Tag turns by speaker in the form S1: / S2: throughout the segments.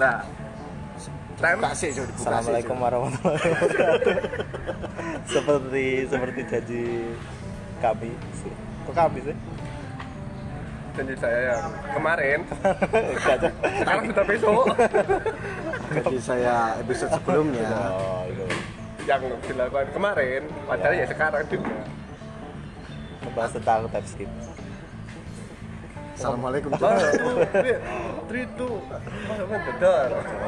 S1: Lah.
S2: Assalamualaikum warahmatullahi wabarakatuh. Seperti janji kami. Kok kami sih?
S1: Janji saya yang kemarin. Sekarang sudah besok.
S3: Jadi saya episode sebelumnya.
S2: Oh, itu.
S1: Yang dilakukan kemarin, padahal ya sekarang juga.
S2: Membahas tentang TypeScript.
S3: Assalamualaikum.
S1: Tritu, apa gedor?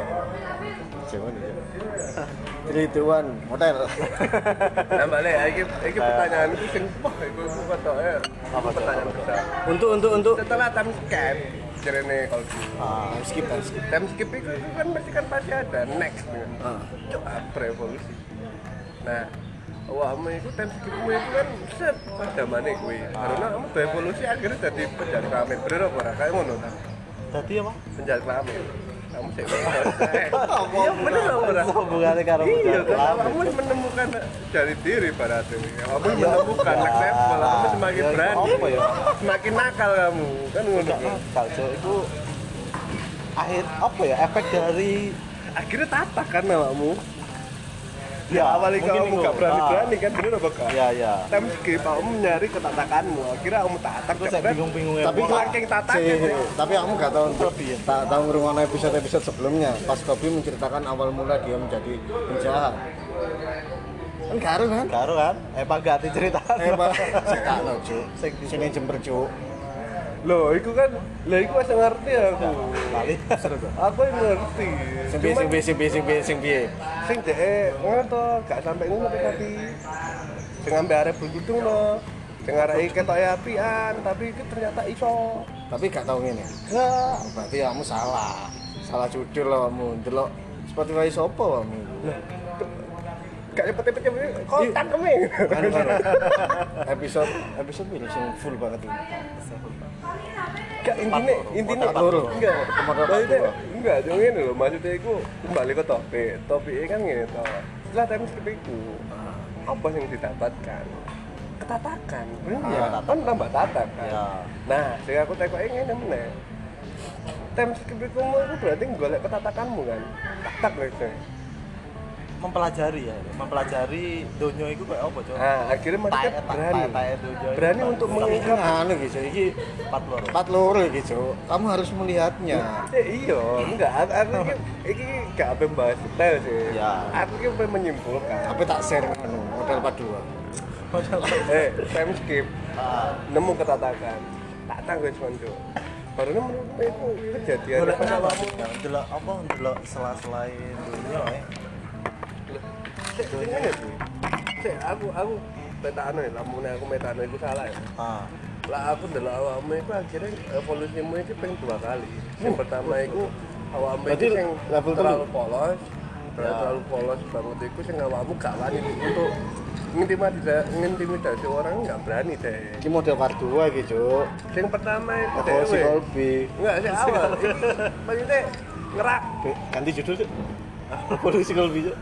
S3: Jangan ya. Trituan hotel.
S1: Nah, balik iki pertanyaanku sing wah iku ketoke. Apa pertanyaan besar?
S3: Untuk
S1: Setelah time skip, jarene kalau
S3: skip.
S1: time skip itu kan pasti ada next kan. Coba berevolusi. Nah, awakmu itu time skipmu itu kan set pada mana kuwi. Karena kamu berevolusi akhirnya jadi penjara kelamin. Bener apa ora? Kayak ngono ta?
S2: Tadi apa?
S1: Penjara kelamin. Kamu sih iya bener apa ora?
S2: Hubungannya karo
S1: Iya,
S2: penjara
S1: kamu menemukan dari diri berarti. Kamu menemukan next level, kamu semakin berani.
S2: Apa ya?
S1: Semakin nakal kamu. Kan ngono.
S2: Kaljo itu akhir apa ya? Efek dari
S1: Akhirnya tatak kan awakmu.
S2: ya
S1: Awalnya kamu gak berani-berani kan, bener apa kak?
S2: Ya.
S1: Time skip, kamu nyari ketatakanmu. Akhirnya kamu tatak.
S2: Terus saya bingung-bingung ya.
S3: Tapi kok
S1: saking tatak
S3: tapi aku nggak tahu tak tahu ngrungokno episode sebelumnya. Pas Kobi menceritakan awal mula dia menjadi penjahat. Kan karo kan?
S2: Karo kan? Emang ganti cerita.
S3: Pak, sekakno, Cuk. Sini Jember, Cuk.
S1: Loh, itu kan, itu masih ngerti aku.
S2: Kali.
S1: Aku yang ngerti.
S3: Sing piye.
S1: Sing dek ngono gak sampai ngono tapi sing ambe arep bergudung no. Sing arek ketoke apian, tapi itu ternyata iso.
S3: Tapi gak tahu ngene.
S1: Enggak.
S3: Berarti kamu salah. Salah judul lah kamu. Delok Spotify sopo kamu.
S1: Gak cepet-cepet kontak kemi.
S3: Episode ini sing full banget ini.
S1: Gak intine
S3: loro.
S1: enggak. Enggak, yo ngene lho, maksudnya iku kembali ke topik. Topiknya kan ngene to. Setelah time skip iku, apa yang didapatkan? Ketatakan. Iya, kan tambah tatak kan.
S2: Ya.
S1: Nah, sing aku tekoke ngene meneh. Time skip iku berarti golek ketatakanmu kan. Tak gitu.
S2: Mempelajari donya itu kayak apa, Cok?
S1: Nah, akhirnya mereka berani untuk mengungkap
S3: Anu gitu, iki 4 loro iki, Cuk. Kamu harus melihatnya.
S1: iya, enggak, aku iki gak apa bahas detail sih.
S2: Ya.
S1: Aku iki pengen menyimpulkan.
S3: Tapi tak share anu, model part 2.
S1: Time skip. Nemu ketatakan. Tatang wis konco. Baru menurutku itu kejadian
S2: Golek
S1: pas
S2: apa?
S1: awakmu.
S2: Delok apa? Delok selain dunia
S1: Sik ngene sih. Sik aku metano ya, lamune aku metano iku salah ya. Lah aku ndelok awakmu iku akhirnya evolusimu iki ping 2 kali. Yang pertama iku awakmu
S3: Berarti
S1: iki sing
S3: level
S1: terlalu polos. Terlalu polos banget iku sing awakmu gak wani untuk ngintimidasi orang enggak berani deh.
S3: Iki model part 2 iki, Cuk.
S1: Yang pertama itu
S3: Evolusi
S1: dewe.
S3: Kolbi.
S1: Enggak sih awal. Maksudnya ngerak.
S3: Ganti judul, Cuk. Evolusi Kolbi, Cuk.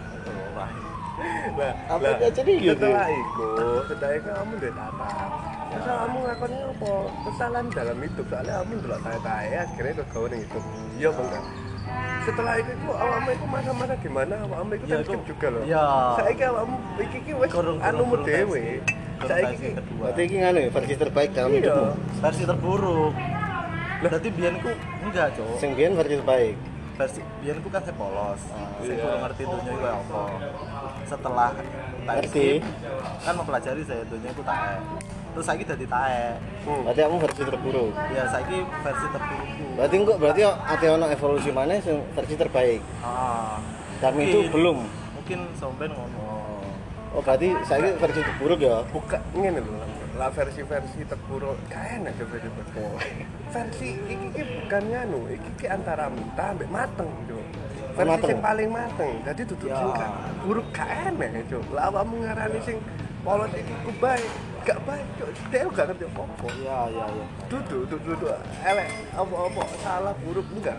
S1: Nah,
S3: Apa aja nih gitu?
S1: setelah itu kamu udah tata. Terus kamu ngakonnya apa? Kesalahan dalam hidup, soalnya kamu ndelok tae-tae akhirnya kegawe itu. Iya apa enggak? Setelah itu awakmu itu masa-masa gimana? Awakmu itu kan skip juga loh.
S2: Iya.
S1: Saiki awakmu iki wis anumu dhewe. Saiki
S3: Berarti iki nganu ya, versi terbaik dalam
S1: iya.
S3: hidupmu.
S2: versi terburuk. Berarti biyenku enggak, Cok.
S3: Sing biyen versi terbaik.
S2: Biyenku kan saya polos. Saya
S1: Iya.
S2: kurang ngerti dunia itu apa. Setelah
S3: Ngerti.
S2: kan mempelajari saya dunia itu tae. Terus saiki dadi tae.
S3: Berarti kamu versi terburuk.
S2: Ya saiki versi terburukku.
S3: Berarti ate ono evolusi mana sing versi terbaik. Dan itu
S2: Mungkin-
S3: belum.
S2: Mungkin sampean ngono.
S3: Oh, berarti saya versi terburuk ya.
S1: buka ngene lho lah versi-versi terburuk kae enak versi terburuk. Versi iki bukan nganu, iki antara mentah ambek mateng, Cuk. Versi
S3: Mateng.
S1: sing paling mateng. Jadi dudu
S2: Ya.
S1: sing gak buruk gak enak, Cuk. Lah awakmu ngarani sing polos iki ku baik, gak baik, Cuk. Dia gak ngerti apa-apa.
S2: Iya.
S1: Dudu elek apa-apa salah buruk enggak.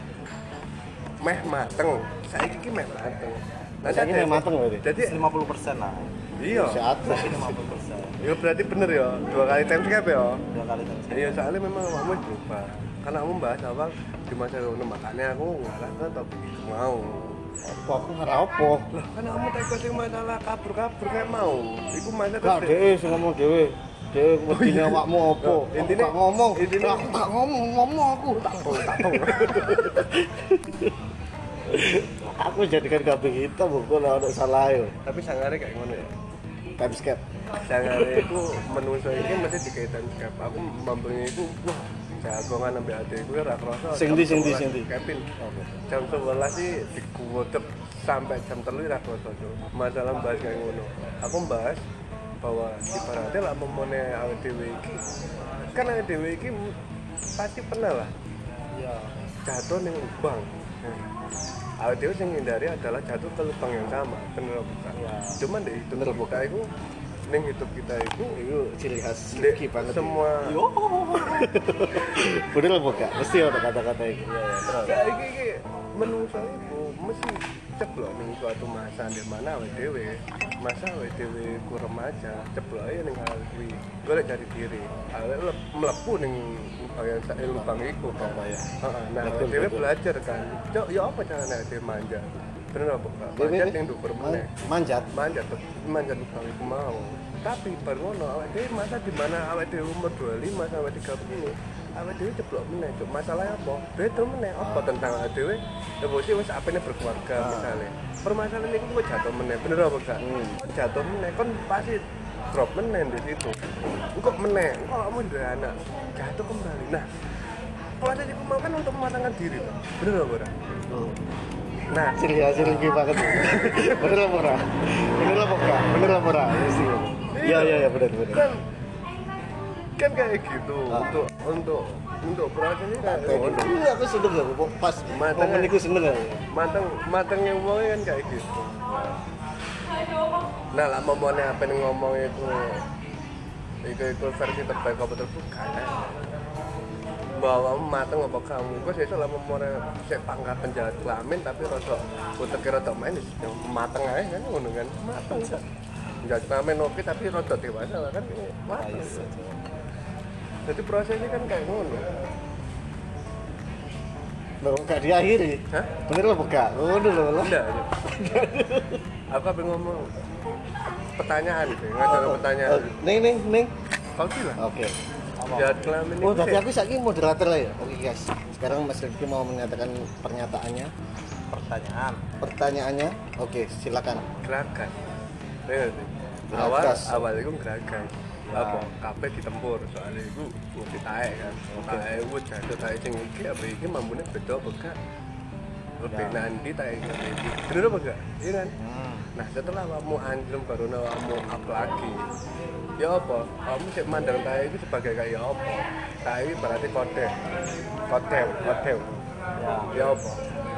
S1: Meh mateng. Saiki iki meh mateng. Nah,
S3: Saiki meh mateng berarti?
S1: Jadi
S2: 50% lah.
S1: iya.
S3: Sehat.
S2: Saiki 50%.
S1: Ya berarti bener ya, 2 kali time skip ya.
S2: 2 kali kan.
S1: Iya soalnya memang awakmu berubah. karena kamu bahas awal di masa ngono makanya aku ngalah ke topik itu mau.
S3: Apa aku ora apa?
S1: Lah kan kamu teko sing masalah kabur-kabur kayak mau. Iku masa
S3: Gak dhewe sing ngomong dhewe. Dhewe wedine awakmu apa?
S1: Intine
S3: Gak ngomong.
S1: intine
S3: Aku tak ngomong aku tak
S1: tahu.
S3: Aku jadikan kabeh kita buku lah ono salah yo.
S1: Tapi sangare kayak ngono ya.
S3: Timescape.
S1: Sangare iku menungso iki mesti dikaitan skep. Aku mampunya iku wah jagongan ambek adekku ora krasa.
S3: Sing ndi?
S1: Kevin. Jam 11 sih dikuwetep sampai jam 3 ora krasa. Masalah bahas kayak ngono. Aku bahas bahwa ibaratnya lah memone awake dhewe iki kan awake dhewe iki pasti pernah lah
S3: Iya.
S1: jatuh ning lubang. Awake dhewe sing hindari adalah jatuh ke lubang yang sama, bener bukan?
S3: Ya.
S1: Cuman deh itu
S3: Bener,
S1: kita itu ning hidup kita itu
S3: Itu ciri khas
S1: Dek,
S3: Rifki banget.
S1: semua
S3: Bener apa gak? Mesti ada kata-kata itu. Iya, terus.
S1: ya iki menungso itu mesti ceblok ning suatu masa di mana awake dhewe masa awake dhewe ku remaja ceblok ae ning hal kuwi golek jati diri awake mlebu ning lubang iku apa ya heeh nah awake dhewe belajar kan cok ya apa carane awake dhewe manja bener apa Kak? Manjat ning dhuwur meneh
S3: Manjat.
S1: manjat lubang iku mau tapi baru ngono awake dhewe masa di mana awake dhewe umur 25 sampai 30 awake dhewe ceblok meneh cuk masalahnya apa beda meneh apa tentang awake dhewe ya bosnya wis apene berkeluarga misalnya permasalahan itu kok jatuh meneh bener apa gak jatuh meneh kan pasti drop meneh di situ kok meneh kok kamu udah anak jatuh kembali nah proses itu mau kan untuk mematangkan diri loh bener apa ora nah
S3: Ciri banget. Bener apa ora? Bener apa ora? Mesti. Iya, bener.
S1: kan kayak gitu untuk proses ini kayak ngono.
S3: Iya, aku seneng lho kok pas
S1: Mateng,
S3: momen iku seneng lho.
S1: matengnya wong kan kayak gitu nah lah momone apa yang ngomong itu versi terbaik apa terbuka bahwa mateng apa kamu kok sesuk lah momone sik pangkat penjahat kelamin tapi rada utek rada main mateng ae kan ngono kan mateng penjahat kelamin oke tapi rada dewasa lah kan mateng jadi prosesnya kan kayak ngono
S3: Loh, gak diakhiri.
S1: hah?
S3: Bener apa gak? Ngono lho.
S1: Enggak. Aku apa ngomong pertanyaan gitu, ngajar pertanyaan.
S3: Ning.
S1: Kau sih lah.
S3: Oke.
S1: Jahat kelamin
S3: Oh,
S1: itu
S3: tadi
S1: sih
S3: aku saiki moderator lah ya. Oke, guys. Sekarang Mas Rifki mau menyatakan pernyataannya. Pertanyaannya. Oke, silakan.
S1: gerakan. Bener sih.
S3: Gerakas.
S1: Awal itu gerakan. Apa? Kabeh ditempur soalnya itu mesti taek kan. Taek itu jatuh taek sing iki apa iki mambune beda apa gak? Lebih nanti taek iki. Bener apa gak? Iya kan? Nah setelah kamu anjlem baru kamu up lagi ya apa? Kamu cek mandang taek itu sebagai kayak apa? Taek itu berarti kode ya apa?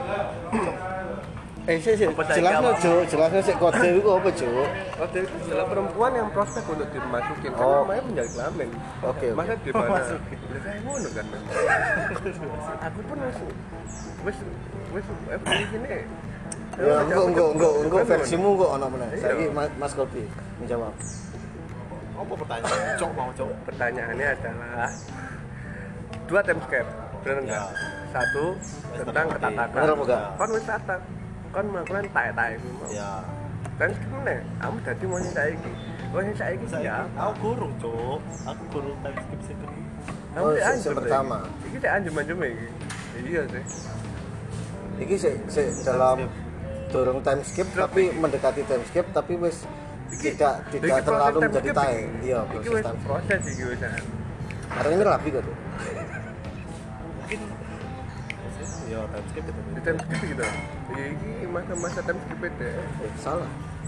S3: Jelasnya sik kode itu apa, Cuk?
S1: Kode itu adalah perempuan yang prospek untuk dimasukin kan
S3: Oh.
S1: namanya penjahat kelamin
S3: Oke.
S1: masa di mana? Ya kayak ngono kan aku pun wis di sini
S3: Ya, enggak versimu enggak ono meneh.
S1: Iya.
S3: Saiki Mas Kopi menjawab.
S2: Apa pertanyaan? Cok.
S1: pertanyaannya adalah 2 timescape bener enggak? Satu tentang ketatakan
S3: Bener apa enggak?
S1: kan wis tatak kan melakukan taek-taek iki mau
S2: Ya.
S1: kan meneh kamu dadi mau sing saiki wong sing saiki ya
S2: Aku guru, Cok. Aku guru timeskip situ.
S1: kamu
S3: Oh,
S1: sik
S3: sing
S1: anjem
S3: pertama.
S1: iki sik anjem-anjem iki iya sih
S3: Iki sik dalam dorong time skip tapi mendekati time skip tapi wis tidak
S1: iki
S3: terlalu
S1: proses
S3: menjadi
S1: timeskip
S3: time.
S1: iki.
S3: Iya,
S1: Iki
S3: proses
S1: wis
S3: time skip.
S1: proses iki wis
S3: Karena ini rapi kok tuh.
S2: Mungkin ya timeskip itu.
S1: di timeskip gitu iki masa-masa timeskip itu
S3: Salah.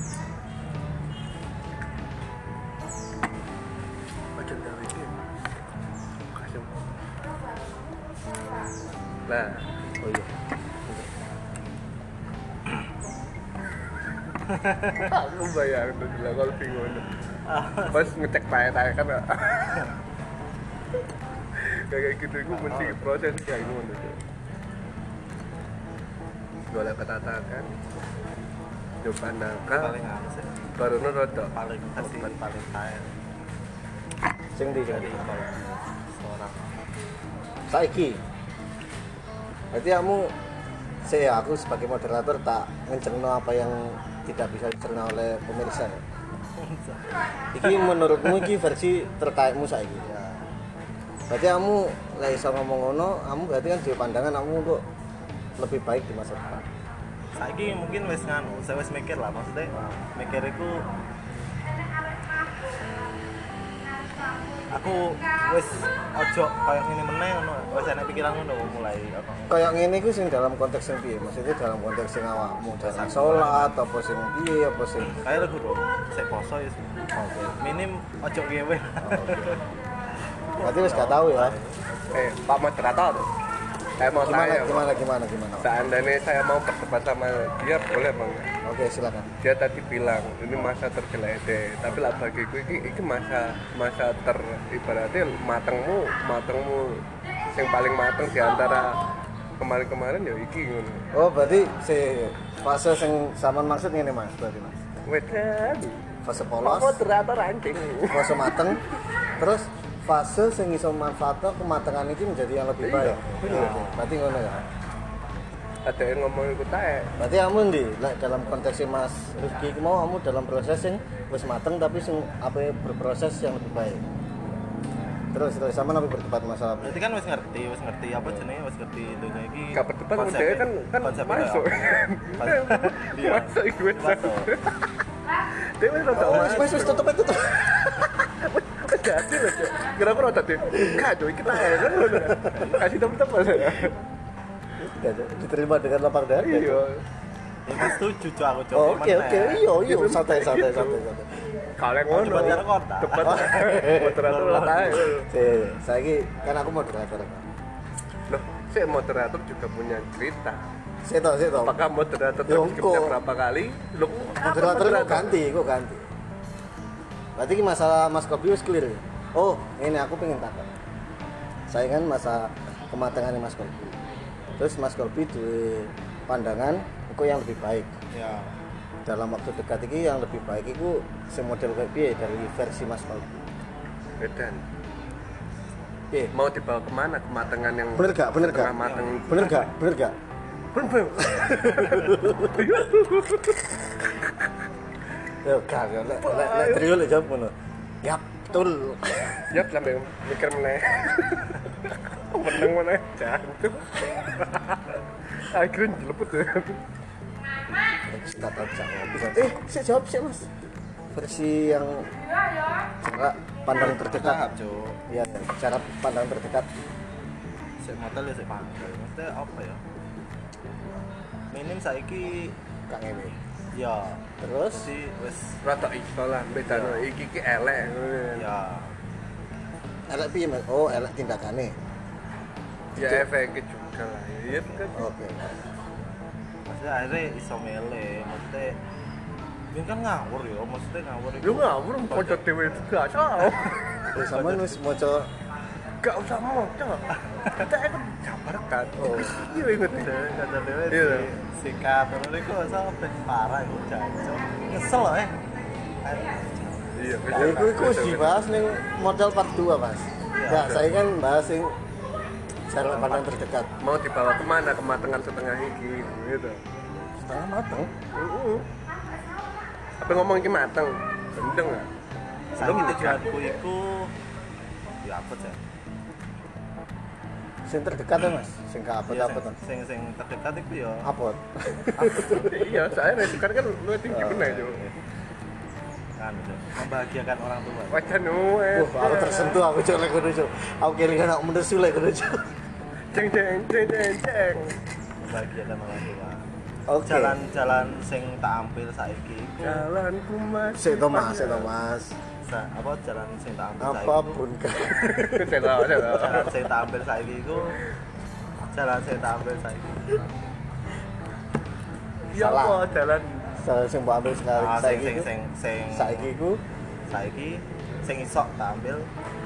S1: macam gawe iki kasih nah
S3: Oh iya.
S1: aku bayang tuh gila kalau bingung pas ngecek taek-taek kan kayak gitu itu mesti proses kayak gimana tuh golek ketatakan coba nangka
S2: Paling anu sih.
S1: baru rodok
S2: Paling kasih paling kaya
S3: Sing ndi
S2: dari
S3: sing ndi?
S2: seorang.
S3: Saiki Berarti kamu aku sebagai moderator tak ngecerno apa yang tidak bisa dicerna oleh pemirsa ya? Iki menurutmu iki versi terkaitmu saiki. Ya. Berarti kamu lek iso ngomong ngono, kamu berarti kan duwe pandangan kamu untuk lebih baik di masa depan.
S2: Saiki mungkin wis saya wis mikir lah, maksudnya mikir iku aku wis ojo kayak ngene meneh ngono, wis ana pikiran ngono mulai apa.
S3: Kayak ngene iku sing dalam konteks sing piye? Maksudnya dalam konteks sing awakmu dalam salat apa sing piye apa sing
S2: Kayak lho bro, sik poso ya.
S3: oke.
S2: Minim ojo ngewe.
S3: Berarti wis gak tahu ya.
S1: Pak moderator, saya mau tanya.
S3: Gimana?
S1: Seandainya saya mau berdebat sama dia, boleh bang?
S3: Oke, silakan.
S1: Dia tadi bilang ini masa tergeletek, tapi lah bagiku ini masa ibaratnya matengmu yang paling mateng di antara kemarin ya iki ngono.
S3: Oh, berarti si fase sing sampean maksud ngene Mas, berarti Mas.
S1: Wedan.
S3: Fase
S1: Pak
S3: polos,
S1: moderator anjing.
S3: fase mateng, terus fase sing iso manfaatno kematangan itu menjadi yang lebih baik.
S1: Iya.
S3: Berarti ngono ya.
S1: Ada yang ngomong ikut tae.
S3: Berarti kamu ndi dalam konteks Mas Rifki iki mau kamu dalam proses sing wis mateng tapi sing apa berproses yang lebih baik. Terus sama nabi berdebat masalah.
S2: Berarti kan wis ngerti apa jenenge, wis ngerti dunia iki.
S1: Gak berdebat dia kan masuk.
S2: Iya.
S1: Masuk iku wis. Dia wis rada
S3: Wis tutup.
S1: jadi loh, Cok. Kira-kira rada deh. Enggak, Cok, iki tak kan ngono. Kasih temen-temen.
S3: Diterima dengan lapang dada.
S1: Iya.
S2: Iki setuju Cok aku Cok.
S3: Oke, iya, santai.
S1: Kalian ngono.
S2: Debat karo kota.
S1: Debat. Moderator lah tae.
S3: Saiki kan aku moderator.
S1: Loh, si moderator juga punya cerita.
S3: Seto.
S1: Apakah moderator
S3: Yo,
S1: terskipnya
S3: kok.
S1: berapa kali? Loh,
S3: Moderator kok ganti. Berarti ini masalah Mas Kopi wis clear ya? Oh, ini aku pengen takut. Saya kan masa kematangan Mas Kopi. Terus Mas Kopi duwe pandangan kok yang lebih baik.
S2: Ya.
S3: Dalam waktu dekat ini yang lebih baik itu semodel kayak piye dari versi Mas Kopi.
S1: Bedan.
S3: Piye?
S1: Mau dibawa kemana kematangan yang
S3: Bener gak?
S1: setengah mateng itu?
S3: Bener gak?
S1: Bener.
S3: Ya gak, lek trio lek jawab ngono. Ya, betul.
S1: Ya sampai mikir meneh. Meneng meneh jantung. Akhirnya jeleput ya.
S3: Tak tahu jawab. Saya jawab sih Mas. Versi yang cara pandang terdekat.
S2: Cok.
S3: Iya, cara pandang terdekat.
S2: Sik modal ya sik pandang. Maksudnya apa ya? Minim saiki
S3: Kang Ewi.
S2: ya
S3: Terus
S2: si wis
S1: Rata iso lah, bedanya iki elek.
S2: ya
S3: elek piye Mas? Oh, elek tindakane.
S1: Ya efeknya juga lah. Iya kan.
S3: Oke.
S2: maksudnya akhirnya iso mele maksudnya ini kan ngawur ya maksudnya ngawur itu
S1: Lu ngawur pojok dhewe juga salah.
S3: Wis sampean wis maca
S1: Gak usah moco. Kita ikut jabar kan.
S3: oh,
S1: Iya inget.
S2: kata dewe
S1: Iya.
S2: sikat terus itu sampai parah itu jancok nyesel loh
S1: Iya,
S3: ya iku wis dibahas ning model part 2, Mas. Ya, saya kan bahas sing cara pandang terdekat.
S1: Mau dibawa kemana kematangan setengah iki gitu.
S3: Setengah mateng.
S1: Apa ngomong iki mateng? Gendeng ah.
S2: saya tujuanku itu ya apa sih
S3: Sing terdekat ya, Mas. Sing ka apa
S2: ya,
S3: apa
S2: sing terdekat itu ya
S3: Apot.
S1: Iya, saya resiko kan lu tinggi bener yo.
S2: kan membahagiakan orang tua
S1: Wajan nuwe.
S3: Aku tersentuh aku cok lek ngono cok. Aku kelingan aku mendesu lek ngono cok.
S1: Ceng.
S2: membahagiakan orang tua
S3: Oke.
S2: jalan-jalan sing tak ambil saiki iku
S1: Jalanku masih.
S3: Sik to Mas.
S2: apa jalan sing tak ambil saiki
S3: Apapun kan.
S2: jalan sing tak ambil saiki iku jalan sing tak ambil saiki
S1: Ya
S3: Salah.
S1: apa jalan
S3: Salah sing mbok ambil sekali saiki.
S2: sing
S3: Saiki iku
S2: saiki sing isok tak ambil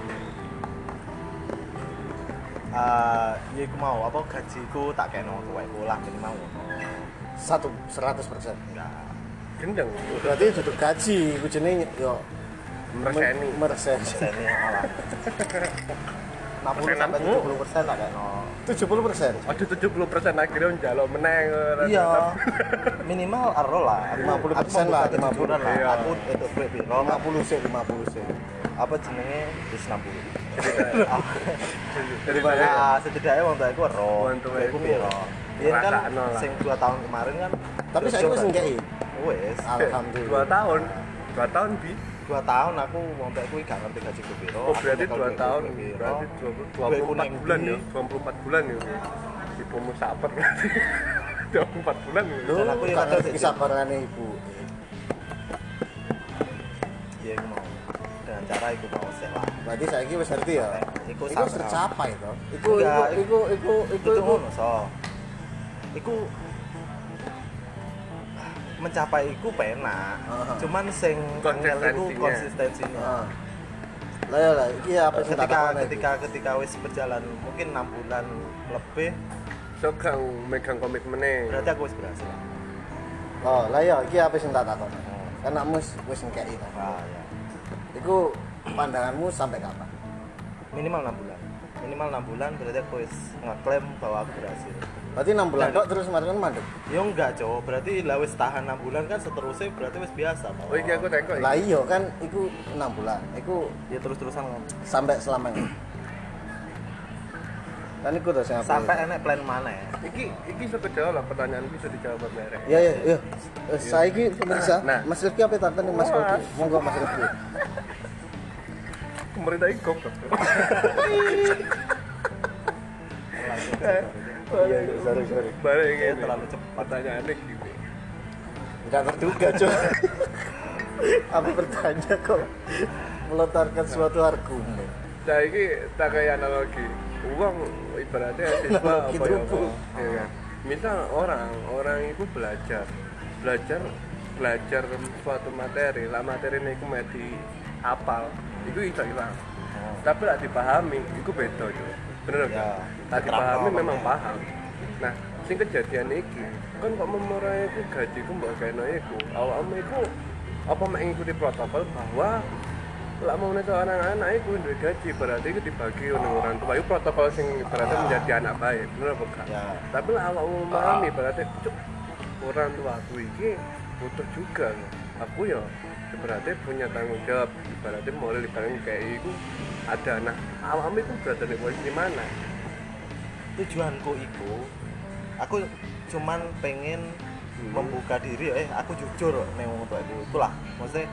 S2: ya iku mau apa gajiku tak kena tuwekku lah minimal
S3: 100%.
S2: enggak
S1: gendeng.
S3: Berarti duduk gaji iku jenenge yo
S1: Mereseni.
S3: mereseni.
S2: seni malah 60 sampai 70% lah kayak no.
S3: 70%.
S1: Aduh 70% akhirnya njaluk meneng.
S2: Iya. Minimal aro lah.
S3: 50% lah, 50
S2: lah.
S1: Iya.
S2: Aku itu duit piro?
S3: 50 sih.
S2: Apa jenenge? Wis 60.
S1: Jadi
S2: Nah, setidaknya wong tuaku ero.
S1: Wong tuaku
S2: Iku piro? Iya kan
S1: rasakno lah.
S2: sing 2 tahun kemarin kan.
S3: Tapi saya wis ngekei.
S2: Wis.
S3: Alhamdulillah.
S1: 2 tahun bi.
S2: 2 tahun aku wong tuaku gak ngerti gajiku piro.
S1: Oh berarti
S2: Aku
S1: 2 tahun,
S2: piro.
S1: berarti 24 bulan ya, 24 bulan ya. Ibumu saper berarti 24 bulan ya.
S3: Lu
S2: Dan aku yang
S3: gak
S2: ada
S3: ngerti
S2: sih.
S3: kesabaran ibu.
S2: Iya aku mau. Dengan cara iku mau sih lah.
S3: Berarti saiki wis ngerti ya.
S2: Iku
S3: Iku wis tercapai to. Iku
S2: Enggak,
S3: iku
S2: itu ngono so. Iku mencapai iku penak. Cuman sing angel iku konsistensinya.
S3: Heeh. Lah ya lah, iki apa sing tak takoni?
S2: Ketika wis berjalan mungkin 6 bulan lebih,
S1: So kang megang komitmennya.
S2: berarti aku wis berhasil.
S3: Oh, lah ya iki apa sing tak takoni? Kan anakmu wis ngekei to.
S2: Ah, ya.
S3: Iku pandanganmu sampai kapan?
S2: Minimal 6 bulan. Minimal 6 bulan berarti aku wis ngeklaim bahwa aku berhasil.
S3: Berarti 6 bulan tok terus kemarin mandek.
S2: Ya enggak, Cok. Berarti lah wis tahan 6 bulan kan seterusnya berarti wis biasa.
S1: Oh iki aku tengok.
S3: Lah iya kan iku 6 bulan. Iku
S2: ya terus-terusan
S3: sampai selamanya. Kan iku to sing aku.
S2: sampai enek plan mana ya?
S1: Iki sekedar lah pertanyaan bisa dijawab merek.
S3: Iya iya iya. Saiki pemirsa,
S1: Nah.
S3: Mas Rifki apa takon Mas Koki? Monggo Mas Rifki.
S1: Pemerintah iki goblok.
S3: Iya, sorry.
S1: Balik
S2: Ya,
S1: ini.
S2: terlalu cepat.
S1: Pertanyaannya gini.
S3: Enggak terduga, Cuk. Aku bertanya kok melontarkan suatu argumen.
S1: Saya ini tak kayak analogi. Uang ibaratnya siswa
S3: Analogi
S1: apa ya?
S3: tubuh.
S1: Apa? Ya kan? Misal orang itu belajar suatu materi, lah materi ini aku mesti hafal, itu bisa hilang. Tapi lah dipahami, itu beda juga. Bener
S2: Ya,
S1: kan? Tak
S2: diterapkan
S1: dipahami
S2: apa
S1: memang
S2: ya?
S1: paham. Nah, sing kejadian iki, kan kok memorai iku gajiku mbok gaeno iku, awakmu iku apa mek ngikuti protokol bahwa lah mau nek anak-anak iku duwe gaji berarti itu dibagi oleh orang tua. Itu protokol sing berarti menjadi anak baik, bener apa enggak?
S2: Ya.
S1: Tapi lah awakmu memahami berarti cuk orang tua aku iki butuh juga. Aku ya berarti punya tanggung jawab ibaratnya mulai ibaratnya kayak itu ada nah awakmu itu berada di posisi mana?
S2: Tujuanku itu aku cuman pengen membuka diri aku jujur nih ngomong tuh itulah maksudnya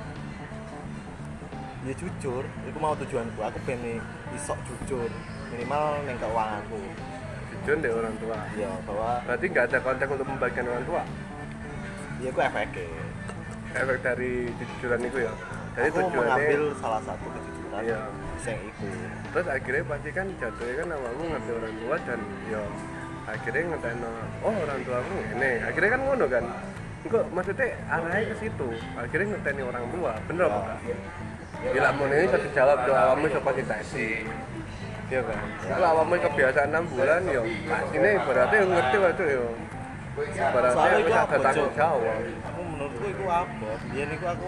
S2: ya jujur itu mau tujuanku aku pengen isok jujur minimal neng keuanganku
S1: Jujur deh orang tua.
S2: ya bahwa
S1: Berarti nggak ada konteks untuk membagikan orang tua.
S2: ya aku efeknya
S1: Efek dari kejujuran itu ya. Jadi
S2: aku mengambil salah satu kejujuran
S1: Iya.
S2: yang itu
S1: Terus akhirnya pasti kan jatuhnya kan awakmu ngerti orang tua dan ya akhirnya ngeteno oh orang tua aku ini. Akhirnya kan ngono kan. Kok maksudnya arahnya ke situ. Akhirnya ngeteni orang tua. Bener apa enggak? Bila mau ini satu jawab tuh awakmu iso fasilitasi. Iya kan. Kalau awakmu kebiasaan 6 bulan ya pastinya berarti ngerti waktu ya. Berarti
S2: soalnya
S1: aku
S2: itu
S1: ada
S2: apa
S1: tanggung
S2: Cok?
S1: jawab.
S2: aku menurutku itu apa biar niku aku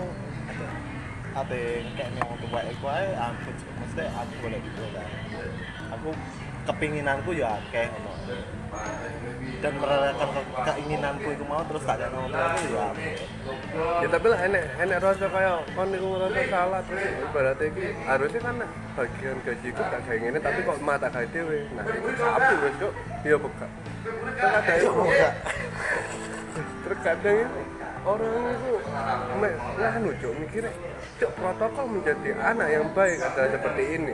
S2: ate kayak nih waktu baik aku aku maksudnya aku boleh gitu kan aku kepinginanku ya kayak ngono dan merelakan keinginanku itu mau terus tak ada ngomong aku ya apa
S1: Ya tapi lah enek rasa kaya kon niku ngerasa salah terus ibaratnya iki harusnya kan bagian gajiku tak kayak ngene tapi kok mata gawe dhewe. Nah, itu sapi wis kok iya buka. Terkadang terkadang itu orang itu nganu cok mikirnya cok protokol menjadi anak yang baik adalah seperti ini.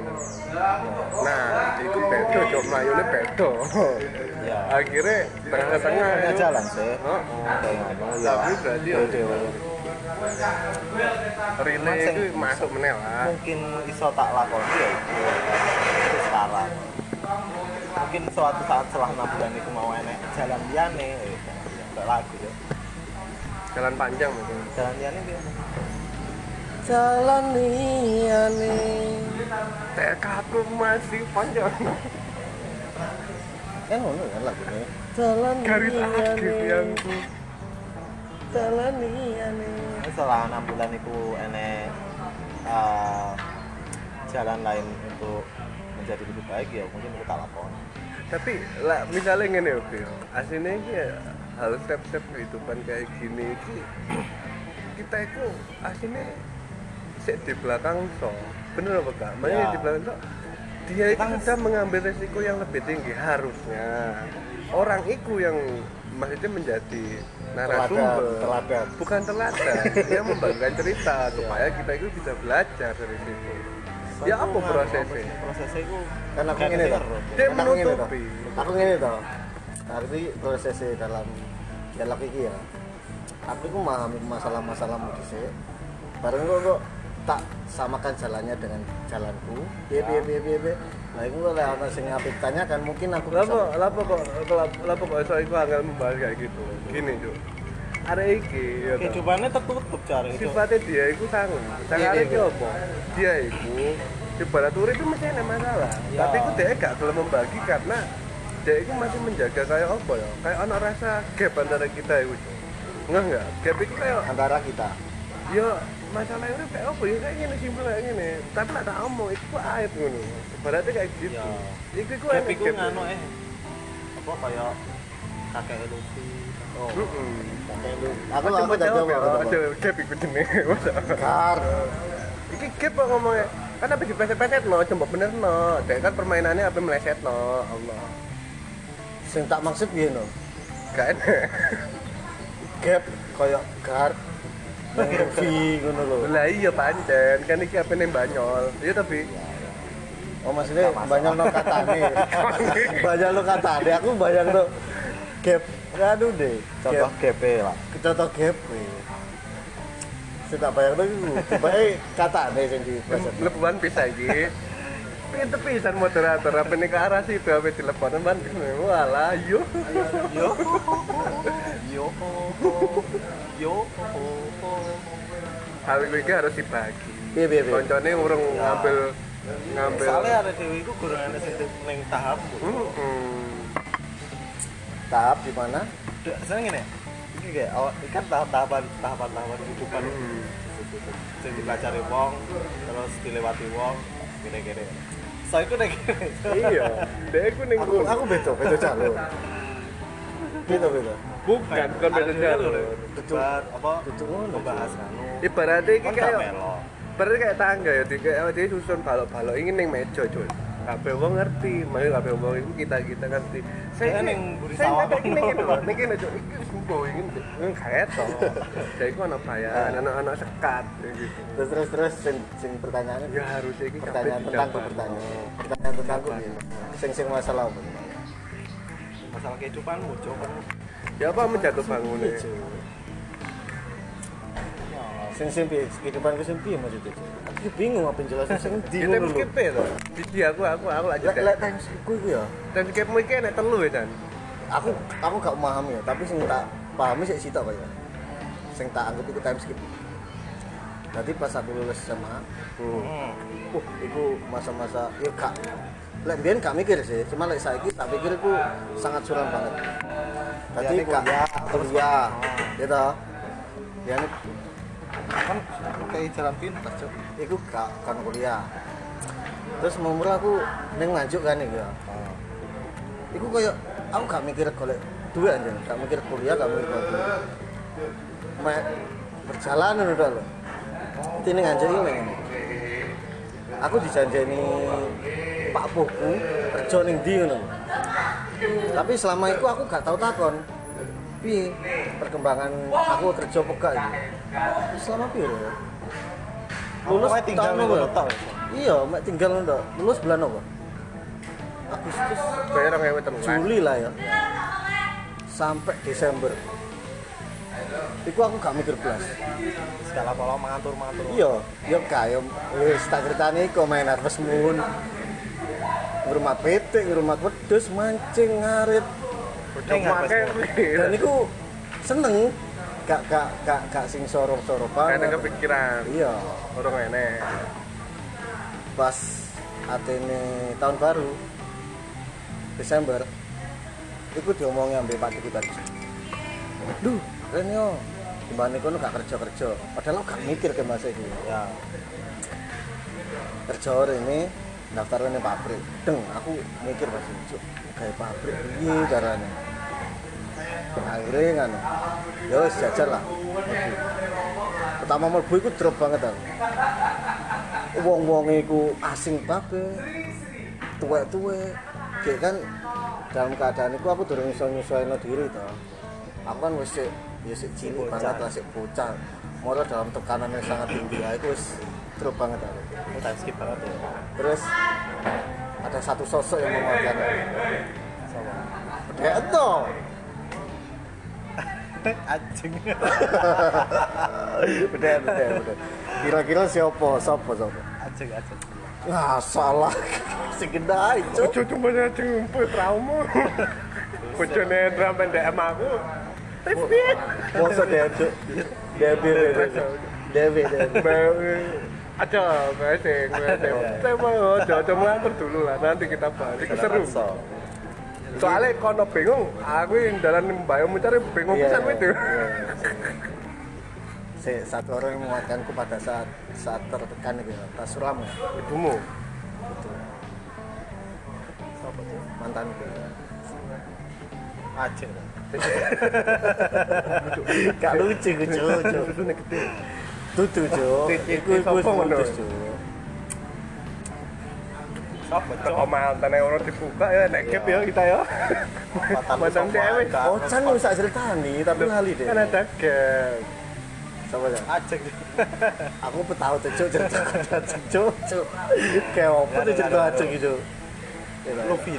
S1: Nah, itu bedo cok melayune bedo.
S2: ya
S1: Akhirnya tengah-tengah
S2: tengah
S1: itu-
S2: jalan sih
S1: Oh, tapi berarti ya relay
S2: Emang
S1: itu
S2: sing-
S1: masuk menel lah.
S2: mungkin iso tak lakoni ya itu sekarang mungkin suatu saat setelah 6 bulan itu mau enek jalan liane enggak lagu ya
S1: Jalan panjang mungkin.
S2: jalan liane dia
S3: Jalan liyane.
S1: Tekadku masih panjang.
S3: Kan ngono kan lagunya. Jalan
S1: Garis akhir yang
S3: Jalan liyane.
S2: setelah 6 bulan itu enek jalan lain untuk menjadi lebih baik ya mungkin aku tak lakoni.
S1: Tapi lah misalnya ngene oke aslinya iki ya, hal step-step kehidupan kayak gini iki kita itu aslinya sik di belakang so bener apa enggak? Makanya di belakang so dia itu sudah mengambil resiko yang lebih tinggi harusnya orang itu yang maksudnya menjadi narasumber
S3: teladan.
S1: bukan teladan dia membagikan cerita supaya kita itu bisa belajar dari situ ya apa prosesnya
S2: Prosesnya itu
S3: Kan aku ngene to.
S1: dia
S3: Kan aku ngene to.
S1: menutupi
S3: Aku ngene to. Arti prosesnya dalam dialog iki ya. Aku ku memahami masalah-masalahmu dhisik. Bareng kok tak samakan jalannya dengan jalanku. Piye. Nah, iku lek ana sing apik tanyakan mungkin aku bisa.
S1: Lapa kok iso iku angel membahas kayak gitu. Gini, Cuk. Arek iki ya.
S2: kehidupannya tertutup cari itu.
S1: Sifatnya dia itu sangu. Sangar iki apa? Dia itu ibarat urip itu mesti ada masalah.
S2: Ya.
S1: Tapi itu dia gak gelem membagi karena dia itu masih menjaga kayak apa ya? Kayak ana rasa gap antara kita itu. Enggak. Gap itu kayak
S3: Antara kita.
S1: ya masalah urip kayak apa ya kayak gini simpel kayak gini. Tapi lah tak omong itu aib ngono. Ibaratnya kayak gitu.
S2: Ya.
S1: Iku
S2: Gap
S1: enak
S2: iku
S1: gap.
S2: nganu apa kayak kakek Luffy. Oh.
S3: Aku tak jawab.
S1: Aja gap iku jenenge.
S3: Kar.
S1: Iki gap kok ngomongnya. Kan apa dipeset-peset no, coba bener no. Dek kan permainannya apa meleset no. Allah.
S3: Sing tak maksud piye no?
S1: Gak enak.
S3: Gap koyo gar. Luffy ngono lho.
S1: Lah iya pancen, kan iki apa ning Banyol. Iya tapi
S3: Oh maksudnya banyak no katane. Banyak no katane. Aku bayang no gap. Aduh deh.
S2: Contoh GP lah.
S3: Contoh gap. Saya tak bayang tuh baik katane sing di
S1: lebuan bisa iki. Pinter pisan moderator apa nih ke arah situ apa telepon ban walah yo.
S2: Yo.
S1: Hal iki harus dibagi.
S3: Piye.
S1: Koncone urung ngambil
S2: Soalnya ada dewi itu kurang ada sing ning tahap.
S3: tahap di mana?
S2: Seneng ngene. Iki kayak awak kan tahapan kehidupan. Sing dipelajari wong, terus dilewati wong, gini-gini. So iku nek
S1: Iya, dek aku ning
S3: Aku beto jalur. Beto.
S1: bukan beda jalur.
S2: debat apa
S3: Duduk ngono.
S2: membahas anu.
S1: Ibaratnya iki
S2: Kan
S1: kayak
S2: gak melo.
S1: berarti kayak tangga ya, dia susun balok-balok ini ning meja cuy. Kabeh wong ngerti, makanya kabeh wong itu kita ngerti.
S2: Saya
S1: ini-
S2: ning buri
S1: saya
S2: sawah.
S1: nggak ning ngene lho, ning kene cuy. Iki wis mbo iki kayak to. Jadi iku ana bayaran, anak-anak sekat kayak gitu.
S3: Terus sing pertanyaannya
S1: Ya harusnya iki kabeh
S3: pertanyaan tentangku
S1: didapat.
S3: pertanyaan tentangku piye? Sing masalah apa?
S2: Masalah kehidupanmu, Cok. Kan
S1: Ya apa menjatuh bangunnya?
S3: Sing piye? Kehidupanku sing piye maksudnya? Aku bingung apa jelasin sing ndi
S1: Kita
S3: ngono lho.
S1: skip to. Di aku lanjut.
S3: Lek timeskipku iku ya.
S1: Dan skipmu iki enek telu ya, Dan.
S3: Aku gak memahami ya, tapi sing tak pahami sik sitok kaya. Sing tak anggap itu time skip. Nanti pas aku lulus SMA, iku masa-masa ya gak lek biyen gak mikir sih, cuma lek saiki tak pikir iku sangat suram banget. Tadi
S2: Ya,
S3: gak kuliah, gitu. Ya
S2: kan kayak jalan pintas, Cok.
S3: iku gak kan kuliah. Terus umur aku ning nganjuk kan iku ya. Iku koyo aku gak mikir golek duit anjir, gak mikir kuliah, gak mikir golek duit. Mek berjalan ngono to lho. Tine nganjuk iki ngene. Aku dijanjeni Pak Puku kerja ning ndi ngono. Tapi selama itu aku gak tau takon. Piye perkembangan aku kerja apa gak iki? Selama piye lho? Lulus
S2: Pokoknya tinggal
S3: tahun
S2: ngono
S3: apa?
S2: tok.
S3: Iya, mek tinggal ngono tok. Lulus bulan apa? Agustus,
S1: Bayar 2013.
S3: Juli lah ya. Sampai Desember. Iku aku gak mikir blas.
S2: Segala pola mengatur.
S3: Iya, yo kaya wis tak critani iku main Harvest Moon. Ngurmat petik, ngurmat wedhus, mancing, ngarit. Dan iku seneng. Gak sing soro-soro
S1: Karena
S3: banget.
S1: kepikiran
S3: Iya,
S1: orang enek.
S3: pas atene tahun baru Desember iku diomongi ambek Pak Diki tadi. Duh, keren yo. Timbane kono gak kerja-kerja. Padahal aku gak mikir ke masa itu.
S2: Ya.
S3: Kerja ini daftar ning pabrik. Deng, aku mikir pas itu kayak pabrik piye carane. Akhirnya kan, ya wis jajar lah. Pertama mlebu iku drop banget aku. Wong-wong iku asing banget. Tuwek-tuwek. Kayak kan dalam keadaan itu aku durung iso nyesuaiin diri to. Aku kan wis cilik banget lah, sik bocah. Moro dalam tekanan yang sangat tinggi, aku wis drop banget aku.
S2: Udah skip banget ya.
S3: Terus ada satu sosok yang menguatkan aku.
S2: Sama.
S3: Bedek ento.
S2: Anjing.
S3: Bedek. Kira-kira siapa?
S2: Anjing.
S3: Nah, salah. Sing gendai, Cuk.
S1: Ojo cuma jemput trauma. Bojone drama DM aku. Tapi
S3: Masa dia, Cuk. Dewi.
S1: ada ngasih. Saya mau coba ngatur dulu lah, nanti kita bahas. Itu seru. Soalnya kono bingung, aku yang dalam bayang mencari bingung
S3: Iya,
S1: pisan itu.
S3: Satu orang yang menguatkanku pada saat tertekan gitu, tak suram ya.
S1: Ibumu.
S3: Mantanku.
S2: Anjing.
S3: Gak lucu, Cuk.
S1: Susunya gede.
S3: Tutu, Cuk. Iku putus, Cuk.
S2: Sopo
S1: Kalau mantan yang orang dibuka ya, naik cap ya kita ya. Mantan cewek.
S3: Oh, Chan lu sak ceritani, tapi lali deh.
S1: Kan ada cap.
S3: Sama ya.
S2: Anjing.
S3: Aku tahu tuh, Cuk, cerita Cuk. Kayak apa tuh cerita Cuk gitu.
S2: Luffy.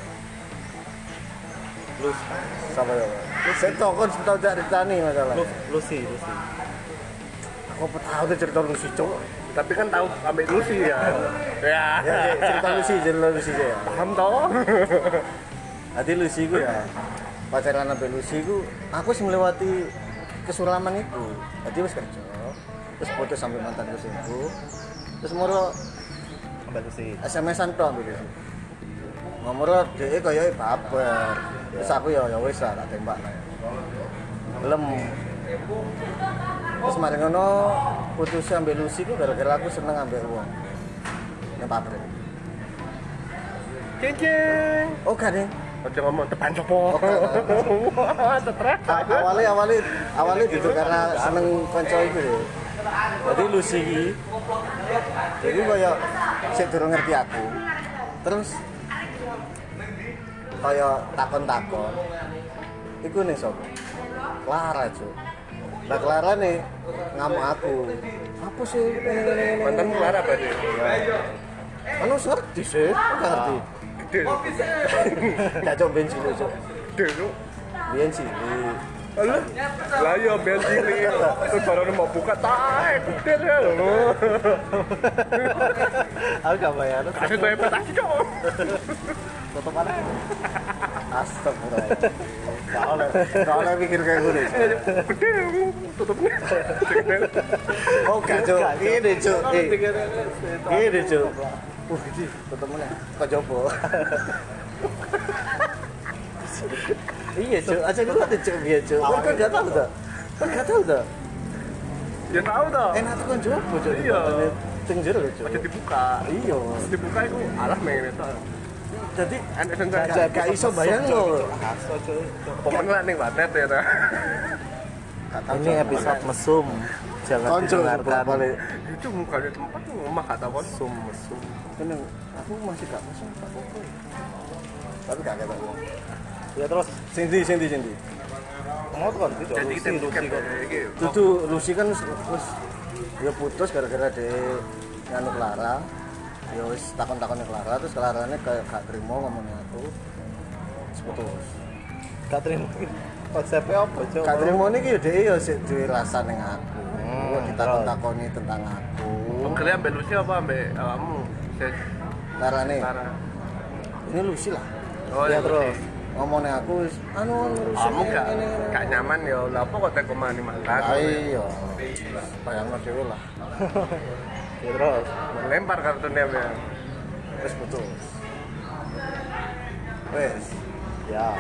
S3: Sama ya. Saya tahu ceritani masalah.
S2: Lucy.
S3: Aku tahu tuh cerita Lucy, Cuk.
S1: Tapi kan tahu ambil Lucy ya. Ya.
S3: Ya, cerita Lucy ya.
S1: Paham toh?
S3: Nanti Lucy ku ya. Pacaran sampai Lucy ku, aku sih melewati kesuraman itu. Jadi wis kerja. Terus putus sampai mantan Lucyku. Terus moro
S2: Ambil Lucy.
S3: SMS-an tok ambil Lucy. Ngomoro dhek kaya baper. Terus aku ya wis lah tak tembak lah. Belum. Terus mari ngono putus ambil Lucy ku gara-gara aku seneng ambil uang. Yang pabrik.
S1: Cincin.
S3: Oh, gak deh.
S1: Ojo ngomong depan sopo. Wah, stres.
S3: Awalnya gitu karena seneng konco itu deh. Jadi Lucy iki jadi kaya sik durung ngerti aku. Terus kaya takon-takon. Iku nih sapa? Clara, Cuk. Lah Clara nih ngamuk aku. Apa sih ini?
S1: Mantan Clara berarti.
S3: Anu ngerti sih, enggak ngerti.
S1: Gede.
S3: Gak coba bensin lu, Cuk.
S1: Gede lu.
S3: Biyen sih.
S1: Alah, lah ya ben cilik. Terus baru mau buka tae gede ya lho.
S2: Aku gak bayar.
S1: Kasih tuh investasi cok.
S2: Tutup mana?
S3: Astagfirullah. Gak oleh mikir kayak gue deh.
S1: Gede tutupnya.
S3: Oh gak, Cuk. Ini, Cuk. Ini, Cuk. Gini, tutup mana? Kok jopo? Iya, Cuk. Aja gue ada Cuk, iya, Cuk. Kan gak tahu dah.
S1: Ya tahu dah.
S3: Enak tuh kan jopo, Cuk.
S1: Iya.
S3: Teng jero, Cuk.
S1: Aja dibuka.
S3: Iya.
S1: Dibuka itu alah mengen itu.
S3: Jadi
S1: Enak sengaja.
S3: gak iso bayang loh.
S1: Pemenang nih batet ya ta.
S2: Ini episode mesum. Jangan
S3: Konco
S2: didengarkan.
S3: balik.
S1: Itu muka di tempat rumah kata bos.
S2: Mesum.
S3: Tenang, aku masih gak masuk tak apa-apa. Tapi gak kata uang.
S2: Ya terus
S3: Cindy.
S2: mau tuh kan itu
S1: Jadi kita
S2: Lucy
S1: bukan
S2: kok.
S3: Itu Lucy kan wis ya putus gara-gara de nganu Clara. Ya wis takon-takon Clara terus Clarane kayak gak terima ngomongnya aku. Terus putus.
S2: Gak terima konsepnya apa cok?
S3: Gak terima niki ya dhek ya sik duwe rasa ning aku. Kok ditakon-takoni tentang aku.
S1: Pengkali ambil Lucy apa ambil kamu?
S3: Clarane.
S1: Clara.
S3: Ini Lucy lah.
S1: Oh
S2: Ya
S1: ya
S2: terus.
S3: Ngomongnya aku Lucy.
S1: Kamu gak
S3: ini.
S1: nyaman ya, lah apa kok teko mani mantan?
S3: Iya. Bayangno dhewe lah.
S2: Ya terus.
S1: Lempar kartunya ya.
S3: Terus putus. Wes.
S2: Ya.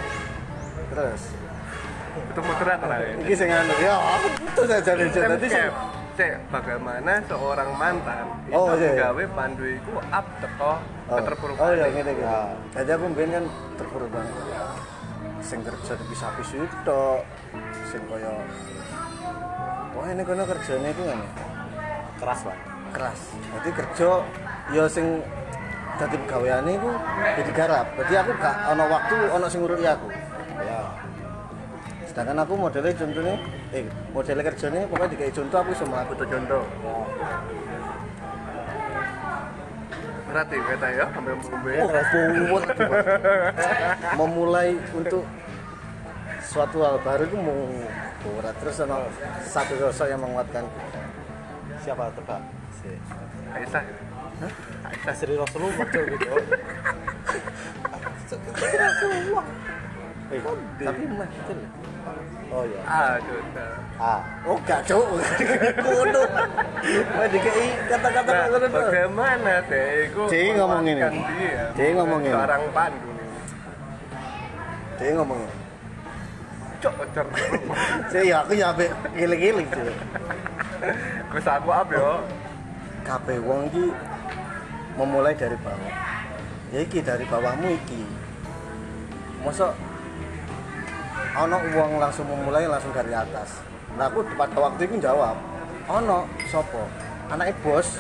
S3: Terus
S1: Itu muteran lah ya.
S3: iki sing anu ya aku putus aja nih Cuk. Dadi sing
S1: bagaimana seorang mantan
S3: Oh,
S1: itu
S3: iya.
S1: gawe pandu iku up teko keterpurukan.
S3: Oh iya ngene iki. Jadi aku mbiyen kan terpuruk banget. Sing kerja dipisah-pisah tok. Sing kaya wah ini kono kerjane iku ngene.
S2: Keras lah.
S3: Keras. Jadi kerja ya sing dadi pegaweane iku jadi garap. Jadi aku gak ana waktu ana sing ngurusi aku.
S2: Ya.
S3: Sedangkan aku modelnya contohnya modelnya kerjanya pokoknya dikai contoh aku sama aku tuh contoh.
S1: Berarti kata ya sampai membe.
S3: Oh, buat memulai untuk suatu hal baru itu mau berat terus ada satu sosok yang menguatkan.
S2: Siapa tebak? Si
S1: Aisyah.
S2: Aisyah Sri Rasulullah gitu.
S3: Tapi mah betul.
S2: Oh iya.
S1: Aduh.
S2: Ah.
S3: Oh gak cok, kudu. Wah dikai kata-kata
S1: Nah,
S3: ngono tuh.
S1: bagaimana deh iku
S3: Dia ngomong ini.
S1: menguatkan dia
S3: Dia ngomong ini.
S1: seorang pandu nih.
S3: Dia ngomongnya.
S1: Cok ocer.
S3: Saya ya aku ya ambek giling-giling sih.
S1: Wis aku up yo.
S3: Kabeh wong iki memulai dari bawah. Ya iki dari bawahmu iki. Mosok ono uang langsung memulai langsung dari atas. Nah aku pada waktu itu jawab, ono sopo, anaknya bos.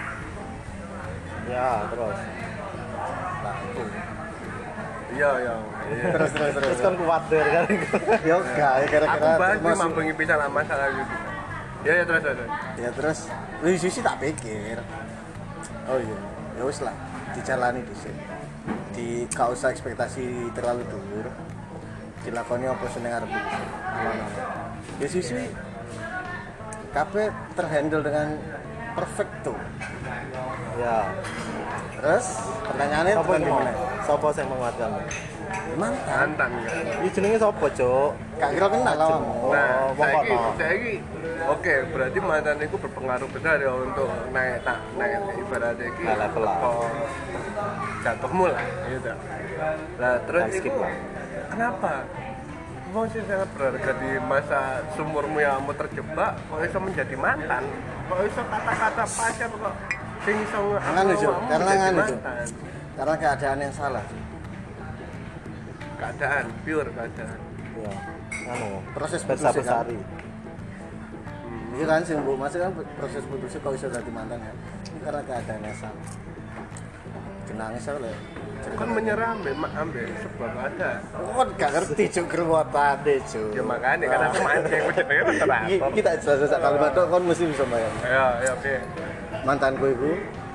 S2: Ya, terus.
S3: Nah itu.
S1: Iya.
S3: Terus
S2: Kan kuat deh kan.
S3: Ya enggak, ya
S1: Aku
S3: gara-gara
S1: bahas
S3: masih-
S1: mambengi pisan lah masalah gitu. Ya terus.
S3: Ya terus, di sisi tak pikir. Oh iya, ya wis lah, dijalani dhisik. Gak usah ekspektasi terlalu dhuwur. Dilakoni apa seneng arep iki. Di sisi kabeh terhandle dengan perfecto.
S2: Ya.
S3: Terus pertanyaannya
S2: Sopo
S3: bukan
S2: iki
S3: di
S2: mau?
S3: mana?
S2: Sopo sing menguatkan?
S3: Mantan.
S1: Mantan kan.
S2: Iki jenenge sopo, Cuk?
S3: Gak kira kenal awakmu.
S1: Nah,
S2: wong kono.
S1: saiki oke, berarti mantan itu berpengaruh besar ya untuk naik ibaratnya iki
S2: Nah, level lah.
S1: teko jatuhmu lah gitu. Nah, terus
S2: Dan skip
S1: itu
S2: lah.
S1: kenapa? Wong sih sangat berharga di masa sumurmu yang kamu terjebak, kok bisa menjadi mantan? Kok bisa kata-kata pacar kok sing iso
S3: Nganu, Cuk.
S1: awakmu
S3: Karena
S1: menjadi
S3: nganu, Cuk.
S1: mantan?
S3: Karena keadaan yang salah.
S1: Keadaan, pure keadaan.
S2: Ya. Anu,
S3: Proses
S2: Bersa
S3: putusnya kan.
S2: Besari.
S3: Iya kan sih Bu, masih kan proses putusnya kok bisa jadi mantan ya. Ini karena keadaan yang salah. Kenangis saya oleh.
S1: Kan menyerah ambil sebab ada.
S3: Oh, gak ngerti cuk kerwatane cuk.
S1: Ya makanya kan aku mancing aku jenenge moderator.
S3: Kita jelas kalimat tok kon mesti bisa bayang.
S1: Ya, oke.
S3: Mantanku iku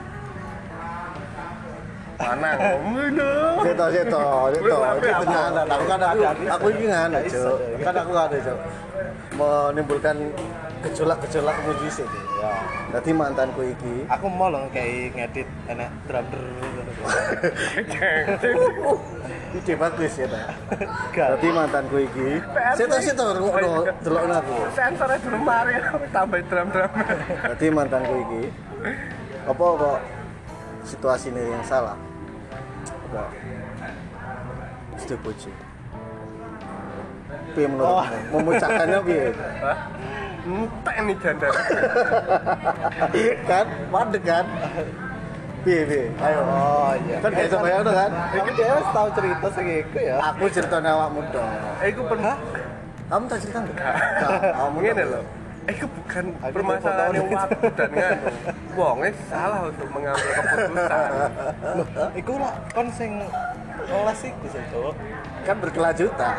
S1: Mana ngono?
S3: seto iki tenan. Aku iki ngene cuk. Kan aku ngene cuk. Menimbulkan gejolak-gejolak musik.
S2: Ya.
S3: Dadi mantanku iki
S2: Aku mau loh kayak ngedit enak drum
S3: ide bagus ya ta.
S2: Gak.
S3: Dadi mantanku iki seto ngono delokno aku.
S1: Sensornya di lemari tambah drum-drum.
S3: Dadi mantanku iki apa kok situasi ini yang salah? Kok setuju. Piye menurutmu? Memecahkannya piye?
S1: Hah? Entek nih janda.
S3: Kan, mandek kan? Piye? Ayo.
S2: Oh iya.
S3: Kan gak iso bayang tuh kan?
S2: Iki dia tahu cerita sing iku ya.
S3: Aku ceritanya awakmu dong.
S1: Iku pernah
S3: Kamu tak cerita enggak? Kamu
S1: ngene lho. Iku bukan
S2: Aku
S1: permasalahan
S2: foto-
S1: waktu dan nganu. Wongnya salah untuk mengambil keputusan.
S2: Loh, iku lah kon sing les iku sih, Cuk.
S3: kan berkelanjutan.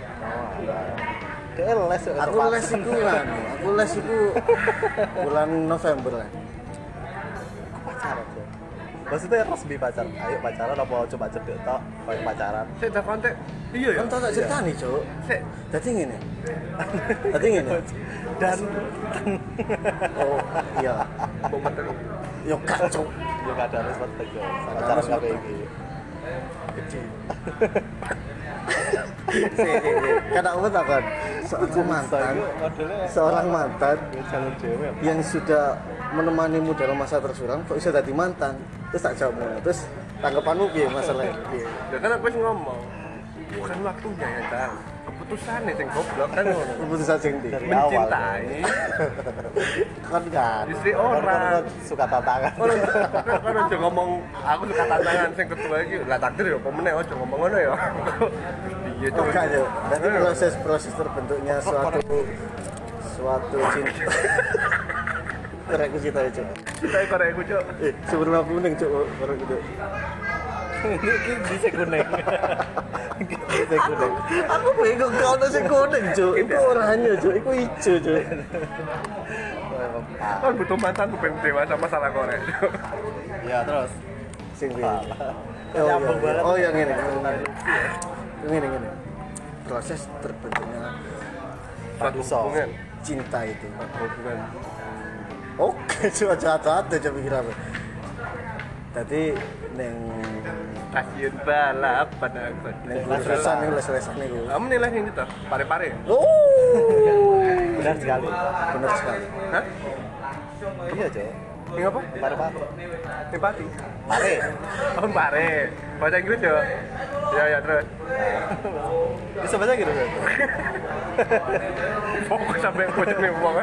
S2: Dia les ya,
S3: Aku
S2: terpaksa.
S3: les itu kan. Aku les itu bulan November lah.
S2: Pacaran, Cuk. Maksudnya resmi pacaran. Ayo pacaran apa coba cedek tok kayak pacaran.
S1: Saya tak kontak. Iya ya.
S3: Kan tau tak cerita nih, Cuk.
S1: Sik.
S3: Dadi ngene. Dadi ngene.
S2: Dan
S3: Oh, iya.
S1: Kok betul.
S3: Yo kacau.
S2: yo gak ada respect Cuk. Pacaran
S3: respect.
S2: kabeh iki.
S3: Kan aku takon seorang mantan
S2: Jalur dhewe.
S3: yang sudah menemanimu dalam masa tersuram kok bisa jadi mantan. Terus tak jawab ngono. Terus tanggapanmu piye masalah piye?
S1: Ya kan aku wis ngomong. Bukan waktunya ya, Cang. keputusan sing goblok kan ngono.
S3: Keputusan sing ndi?
S2: Dari awal.
S1: Mencintai
S3: Kan kan.
S1: istri
S2: Orang
S1: orang.
S2: suka tantangan.
S1: Kan aja ngomong aku suka tantangan sing kedua iki lah takdir ya apa meneh aja ngomong ngono ya. Iya
S3: Oh,
S1: Cuk.
S3: kan ya. Berarti proses terbentuknya suatu cinta. Korek ku cita Cuk.
S1: Kita korek aku Cuk.
S3: Sebelum aku kuning Cuk, korek gitu.
S2: Ini bisa kuning. Bisa kuning.
S3: Aku bingung kau ada sing kuning Cuk. Iku oranye Cuk, iku ijo Cuk.
S1: Kan butuh mantan tuh pengen dewasa masalah korek.
S2: Ya terus.
S3: Sing piye?
S2: Nyambung banget.
S3: Oh, yang ini. Ini. Proses terbentuknya
S1: Suatu hubungan.
S3: cinta itu.
S1: Hubungan.
S3: Oke, cuma jatuh coba pikir apa. Tadi neng
S1: Kasian balapan aku.
S3: neng lesan itu.
S1: Kamu nilai yang gitu? Pare-pare.
S3: Oh,
S2: Benar sekali.
S3: benar sekali.
S1: Hah?
S2: Iya, Cok.
S1: Ini apa?
S2: Pare-pare.
S1: Simpati.
S2: Pare.
S1: Oh, pare. Bahasa Inggris ya? Ya terus.
S2: Bisa baca gitu, Cok.
S1: Fokus sampai pojok nih uang.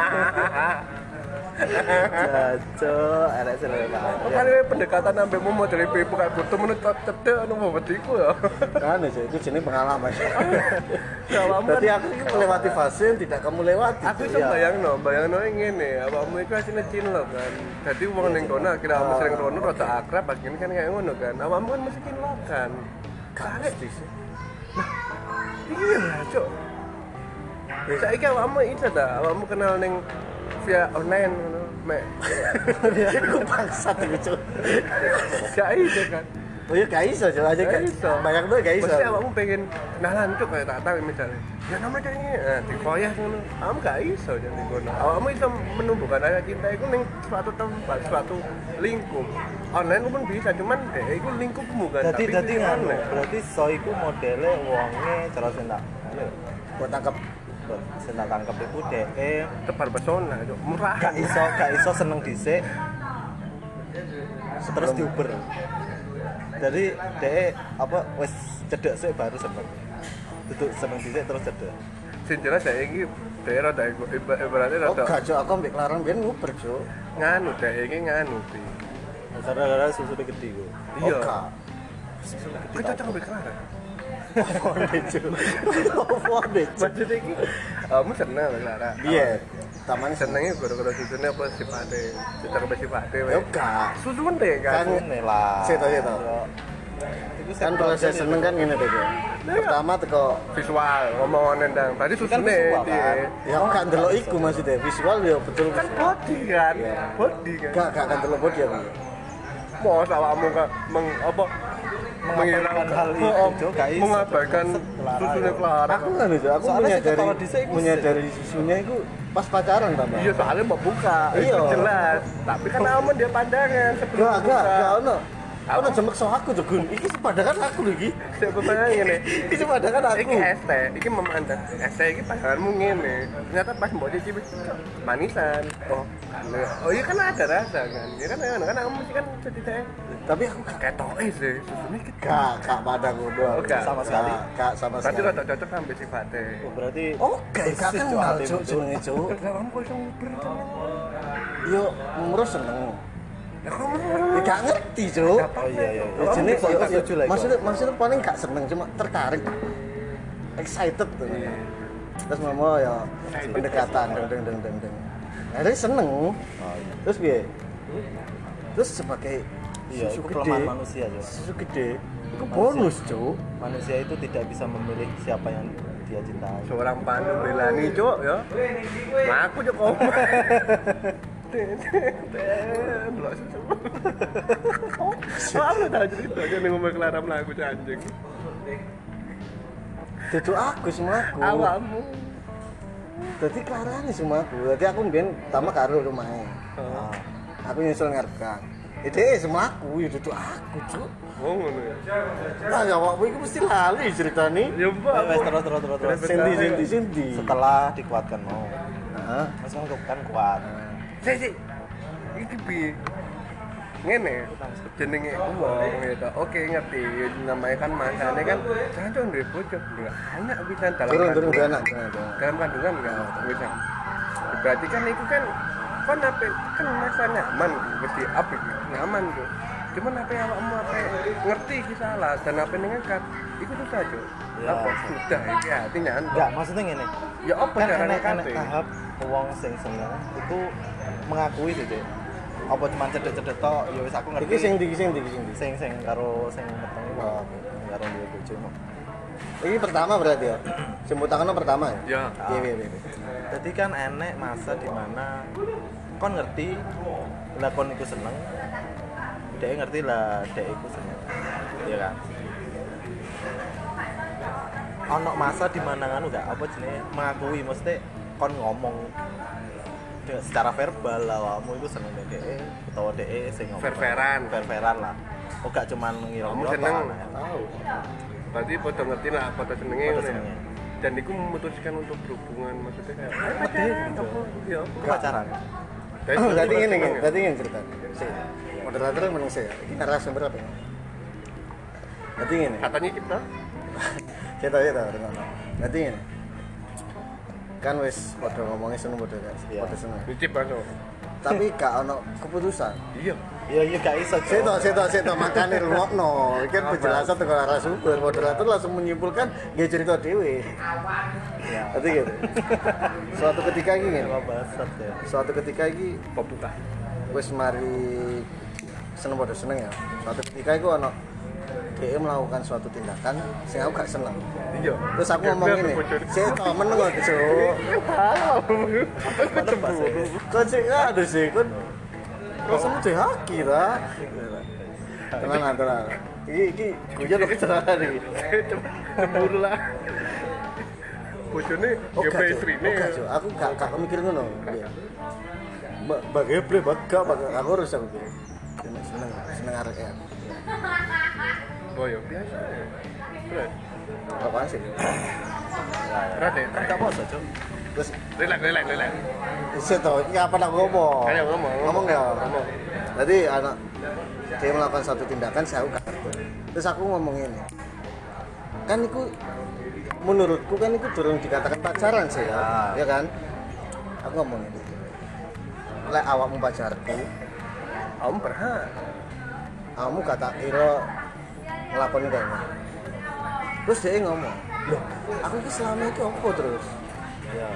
S2: Cok, ada seru banget.
S1: Kan ini pendekatan sampai mau dari pipu kayak butuh menurut cedek anu mau betiku ya.
S3: Kan itu jenis pengalaman.
S1: Kalau
S3: Berarti aku ini melewati fase yang tidak kamu lewati.
S1: aku iso bayangno ngene, awakmu iku asline cinlok kan. Dadi wong ning kono kira kamu sering rono rada akrab pas gini kan kayak ngono kan. Awakmu kan mesti cinlok kan. Kare sih. Iya, Cuk. Saiki awakmu itu ta, awakmu kenal ning via online ngono, Mek.
S3: Aku bangsat itu Cuk.
S1: Gak iso kan.
S3: Oh iya gak iso Cuk, aja
S1: Gak iso.
S3: banyak tuh gak iso.
S1: Mesti awakmu pengen kenalan Cuk kayak tak tahu misalnya. Ya namanya ini, dikoyah ngono. Awakmu gak iso jadi ngono. Awakmu iso menumbuhkan rasa cinta iku ning suatu tempat, suatu lingkup. Online pun bisa, cuman iku lingkupmu kan.
S2: Jadi
S1: tapi
S2: ngono.
S1: online.
S2: Berarti so iku modele wonge cara sing tak.
S3: Buat tangkap
S2: Sing tak tangkep iku dhek
S1: Tebar pesona, Cuk. Murah.
S2: gak iso seneng dhisik. Terus diuber. Jadi dhek apa wis cedek sik baru seneng. Duduk seneng dhisik terus cedek.
S1: Sing jelas saiki daerah ibaratnya
S3: Oh
S1: rada
S3: gak Cuk, aku ambek Larang ben nguber Cuk.
S1: nganu iki nganu Pi.
S2: Gara-gara susune gede ku.
S1: Iya.
S3: Oh gak.
S1: Kok cocok ambek Clara?
S3: Apa Cuk? Apa Cuk?
S1: Maksudnya iki kamu seneng ambek Clara.
S3: Iya. Tamane
S1: Senengnya gara-gara susunya apa sifatnya cocok ambek sifatnya.
S3: Yo gak.
S1: Susun deh kan.
S3: Kan-
S2: Ini lah.
S3: Seto.
S2: Iku
S3: Kan proses seneng kan ngene deh. Pertama teko
S1: Visual ngomong nendang. Tadi susunnya
S2: visual,
S1: dia.
S2: kan?
S3: ya aku gak ndelok iku maksudnya visual ya betul.
S1: Kan body kan.
S3: Iya.
S1: Body kan.
S3: Gak kan ndelok body aku.
S1: Mau awakmu kan
S2: Mengabaikan hal itu, Cuk, gak iso.
S1: mengabaikan
S2: Clara,
S1: susunya
S2: ya.
S1: Clara.
S3: Aku kan itu, aku
S2: Soalnya sih kepala dhisik iku
S3: menyadari susunya itu pas pacaran tambah.
S1: Iya soalnya mau buka,
S3: Iya.
S1: itu jelas. Tapi kan aman dia pandangan sebelum
S3: Gak
S1: buka.
S3: ono. Ono jemek so aku tuh Gun. Iki sepadangan aku lho iki.
S1: Siapa pandangan ini?
S3: Iki sepadangan aku.
S1: Iki ST, iki memandang ST iki pandanganmu ngene. Ternyata pas mbok cicipi manisan. Oh iya kan ada rasa kan. Ya kan aku mesti kan ceritanya
S3: Tapi aku gak
S1: ketoke sih susunya gitu.
S3: gak padang ngono.
S1: Oh, gak.
S2: Sama sekali.
S3: Gak sama
S1: Berarti
S3: sekali.
S1: rada cocok sampai sifatnya.
S2: Oh, berarti
S3: Oke, gak
S2: persis,
S3: kenal
S2: Cuk, hati
S3: Cuk
S2: itu.
S3: jenenge Cuk.
S1: Kamu kok iso nguber kan?
S3: Yo ngurus seneng.
S1: Ya kamu
S3: Ya, gak ngerti Cuk.
S2: Oh iya iya.
S3: Ya, jenis
S2: Kok tak setuju lah iku.
S3: maksudnya paling gak seneng cuma tertarik excited tuh terus mama ya pendekatan deng akhirnya seneng
S2: Oh iya.
S3: terus piye terus sebagai
S2: Iya,
S3: susu
S2: itu
S3: gede
S2: kelemahan manusia, Cuk.
S3: susu gede itu bonus Cuk.
S2: Manusia itu tidak bisa memilih siapa yang dia cintai.
S1: seorang Pandu Belani, Cuk, ya. Nah, aku Cuk kok. Belok susu. Oh, aku tahu cerita aja nih ngomong Clara melaku anjing.
S3: Dudu aku semua aku
S1: Awakmu.
S3: jadi kelarane semua aku jadi aku mbiyen pertama karo rumahnya
S2: Ah.
S3: aku nyusul ngarep kan ide semua aku ya dudu aku Cuk.
S1: Oh, ngono ya.
S3: Lah ya waktu itu mesti lali ceritanya.
S1: Ya, Mbak.
S2: Wes terus.
S3: Sendi.
S2: Setelah dikuatkan mau.
S3: Heeh.
S2: Langsung kan kuat.
S1: Si. Iki piye? ngene jenenge wong gitu. Oke ngerti namanya kan masane kan jangan duwe bojo enggak banyak bisa dalam
S3: Turun anak.
S1: dalam kandungan enggak bisa. Berarti kan itu kan kon apa kan masa nyaman mesti apik nyaman tuh. Cuman apa yang awakmu apa ngerti iki salah dan apa nengekat iku susah aja.
S2: Ya.
S1: Apa sudah iki artinya
S2: Enggak, maksudnya ngene.
S1: ya apa
S2: Kan
S1: carane
S2: enek
S1: kate?
S2: tahap wong sing seneng itu mengakui tuh, Cek. Apa cuma cedek-cedek tok, ya wis aku ngerti.
S3: Iki sing ndi.
S2: Sing karo sing meteng wae. Karo duwe bojomu.
S3: Iki pertama berarti ya. Jemputannya pertama ya.
S1: Ya.
S3: Iya.
S2: Jadi kan enek masa dimana kon ngerti lah kon iku seneng, dia ngerti lah dia iku seneng, iya kan? Ono masa dimana kan enggak apa jenenge mengakui, mesti kon ngomong secara verbal lah awakmu iku seneng dhek utawa dhek sing ngomong ververan lah. Oh gak cuman ngira-ngira
S1: Kamu seneng.
S2: tahu.
S1: Berarti podo ngerti lah podo senenge
S2: Podo
S1: ngono ya.
S2: senenge.
S1: Dan iku memutuskan untuk berhubungan maksudnya kayak apa ya
S2: Pacaran.
S3: Berarti ini cerita. Sih. Moderator meneng saya. Iki narasumber apa? Berarti ini.
S1: katanya kita
S3: Saya tahu. Berarti ini. Kan wis padha ngomongin seneng padha kan.
S2: Iya.
S3: Padha seneng.
S1: dicip langsung
S3: Tapi gak ono keputusan.
S1: iya
S2: Iya gak iso. Cok.
S3: Saya makane rungokno. Iki kan penjelasan teko narasumber. Moderator langsung menyimpulkan nggih cerita dhewe.
S2: Iya.
S3: Berarti gitu. Suatu ketika iki ngene.
S2: Apa basat ya.
S3: Suatu ketika iki
S1: pembuka
S3: wis mari seneng padha seneng ya. Suatu ketika iku ono dia melakukan suatu tindakan sing aku gak seneng.
S1: iya
S3: Terus aku ngomong ini, saya tau meneng kok Cuk. Kok sih aduh sih kon. Kok semu haki ta? Tenang. Iki guyon kok kecelakaan iki.
S1: cemburu lah bojone
S3: Oke,
S1: istrine
S3: Cuk. Aku gak mikir ngono. Bagaimana bagak aku harus aku pikir. Seneng arek ya.
S1: oh ya biasa berat
S3: Apaan sih?
S1: berat ya
S2: Kan gak poso, Cok.
S3: Terus
S1: relax
S3: saya tau, ini apa nak ngomong?
S1: Ayo, ngomong.
S3: ya. Jadi anak dia melakukan satu tindakan saya udah. Terus aku ngomong ini. Kan itu menurutku kan itu durung dikatakan pacaran sih ya. Ya kan? Aku ngomong ini. Lek awakmu pacarku,
S1: kamu berhak
S3: kamu kata kira ngelakuin kayak gini. Terus dia ngomong, loh, aku ini selama itu apa terus?
S2: Iya.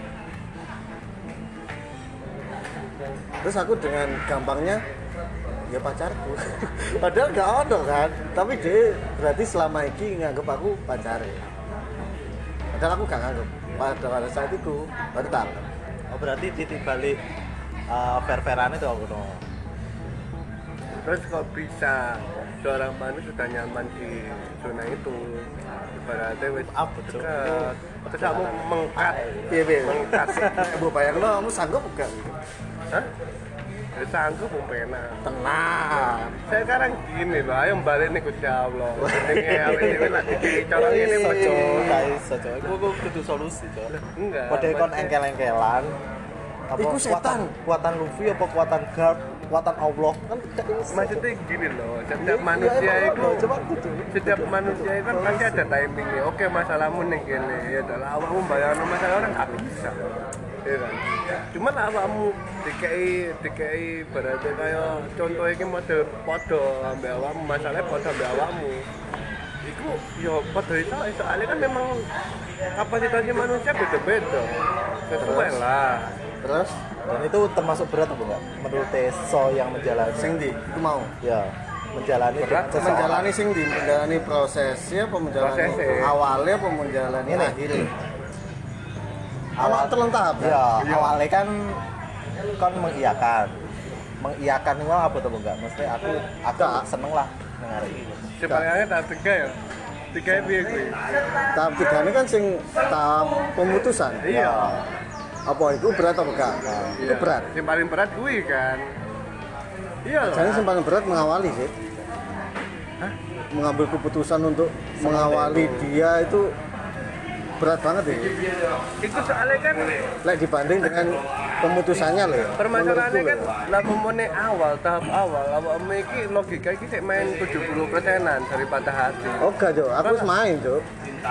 S3: Terus aku dengan gampangnya ya pacarku. Padahal gak ada kan, tapi dia berarti selama ini nganggep aku pacar. Padahal aku gak nganggep. Pada saat itu baru tahu.
S2: Oh berarti titik balik ververan itu aku dong.
S1: terus kok bisa seorang manusia sudah nyaman di zona itu ibaratnya wis
S2: Apa, Cuk?
S1: dekat terus kamu mengkat
S3: Iya,
S1: mengkat
S3: Bu bayang lo, kamu sanggup gak?
S1: hah? Ya sanggup mau pena
S3: Tenang.
S1: saya sekarang gini loh ayo balik nih Gusti Allah ini awet lagi dicolong ini moco
S2: Gak iso, Cok. Iku kudu solusi, Cok.
S1: enggak
S2: Padahal kon
S1: maksudnya-
S2: engkel-engkelan. Apa
S3: Iku setan.
S2: Kuatan Luffy apa kuatan God, kuatan Allah kan gak iso.
S1: maksudnya gini loh setiap manusia itu
S2: coba kudu.
S1: setiap manusia itu kan pasti ada timingnya oke masalahmu nih gini ya adalah awakmu bayangno masalah orang gak bisa ya kan cuman awakmu dikai berarti kayak contoh ini mode podo ambil awakmu masalahnya podo ambil awakmu itu ya podo itu soalnya kan memang kapasitasnya manusia beda-beda sesuai lah
S3: Terus
S2: Dan itu termasuk berat apa enggak? Menurut Teso yang menjalani.
S3: sing ndi? Iku mau.
S2: Ya, menjalani
S1: Berat,
S2: seseorang.
S3: Menjalani sing ndi? Menjalani prosesnya apa menjalani
S1: Prosesnya.
S3: awalnya apa menjalani
S2: Ini.
S3: akhirnya? Awal terlentah apa?
S2: Ya,
S1: Iya.
S2: awalnya kan mengiyakan. Mengiyakan itu apa tuh enggak? Maksudnya aku
S3: Enggak.
S2: seneng lah dengar ini.
S1: sebenarnya tahap 3 ya 3 ya piye kuwi
S3: Tahap 3 ini kan sing tahap pemutusan.
S1: iya
S3: Apa itu berat apa enggak? Itu berat.
S1: yang paling berat kuwi kan iya lah.
S3: Jadi yang paling berat mengawali sih. Mengambil keputusan untuk mengawali dia itu berat banget ya.
S1: Itu soalnya kan
S3: Lek dibanding dengan pemutusannya loh ya.
S1: permasalahannya
S3: Menurutku
S1: kan
S3: loh ya.
S1: lah memone awal tahap awal awakmu iki logika iki sik main 70%-an dari patah hati.
S3: Oh enggak, Cuk. Aku wis main, Cuk.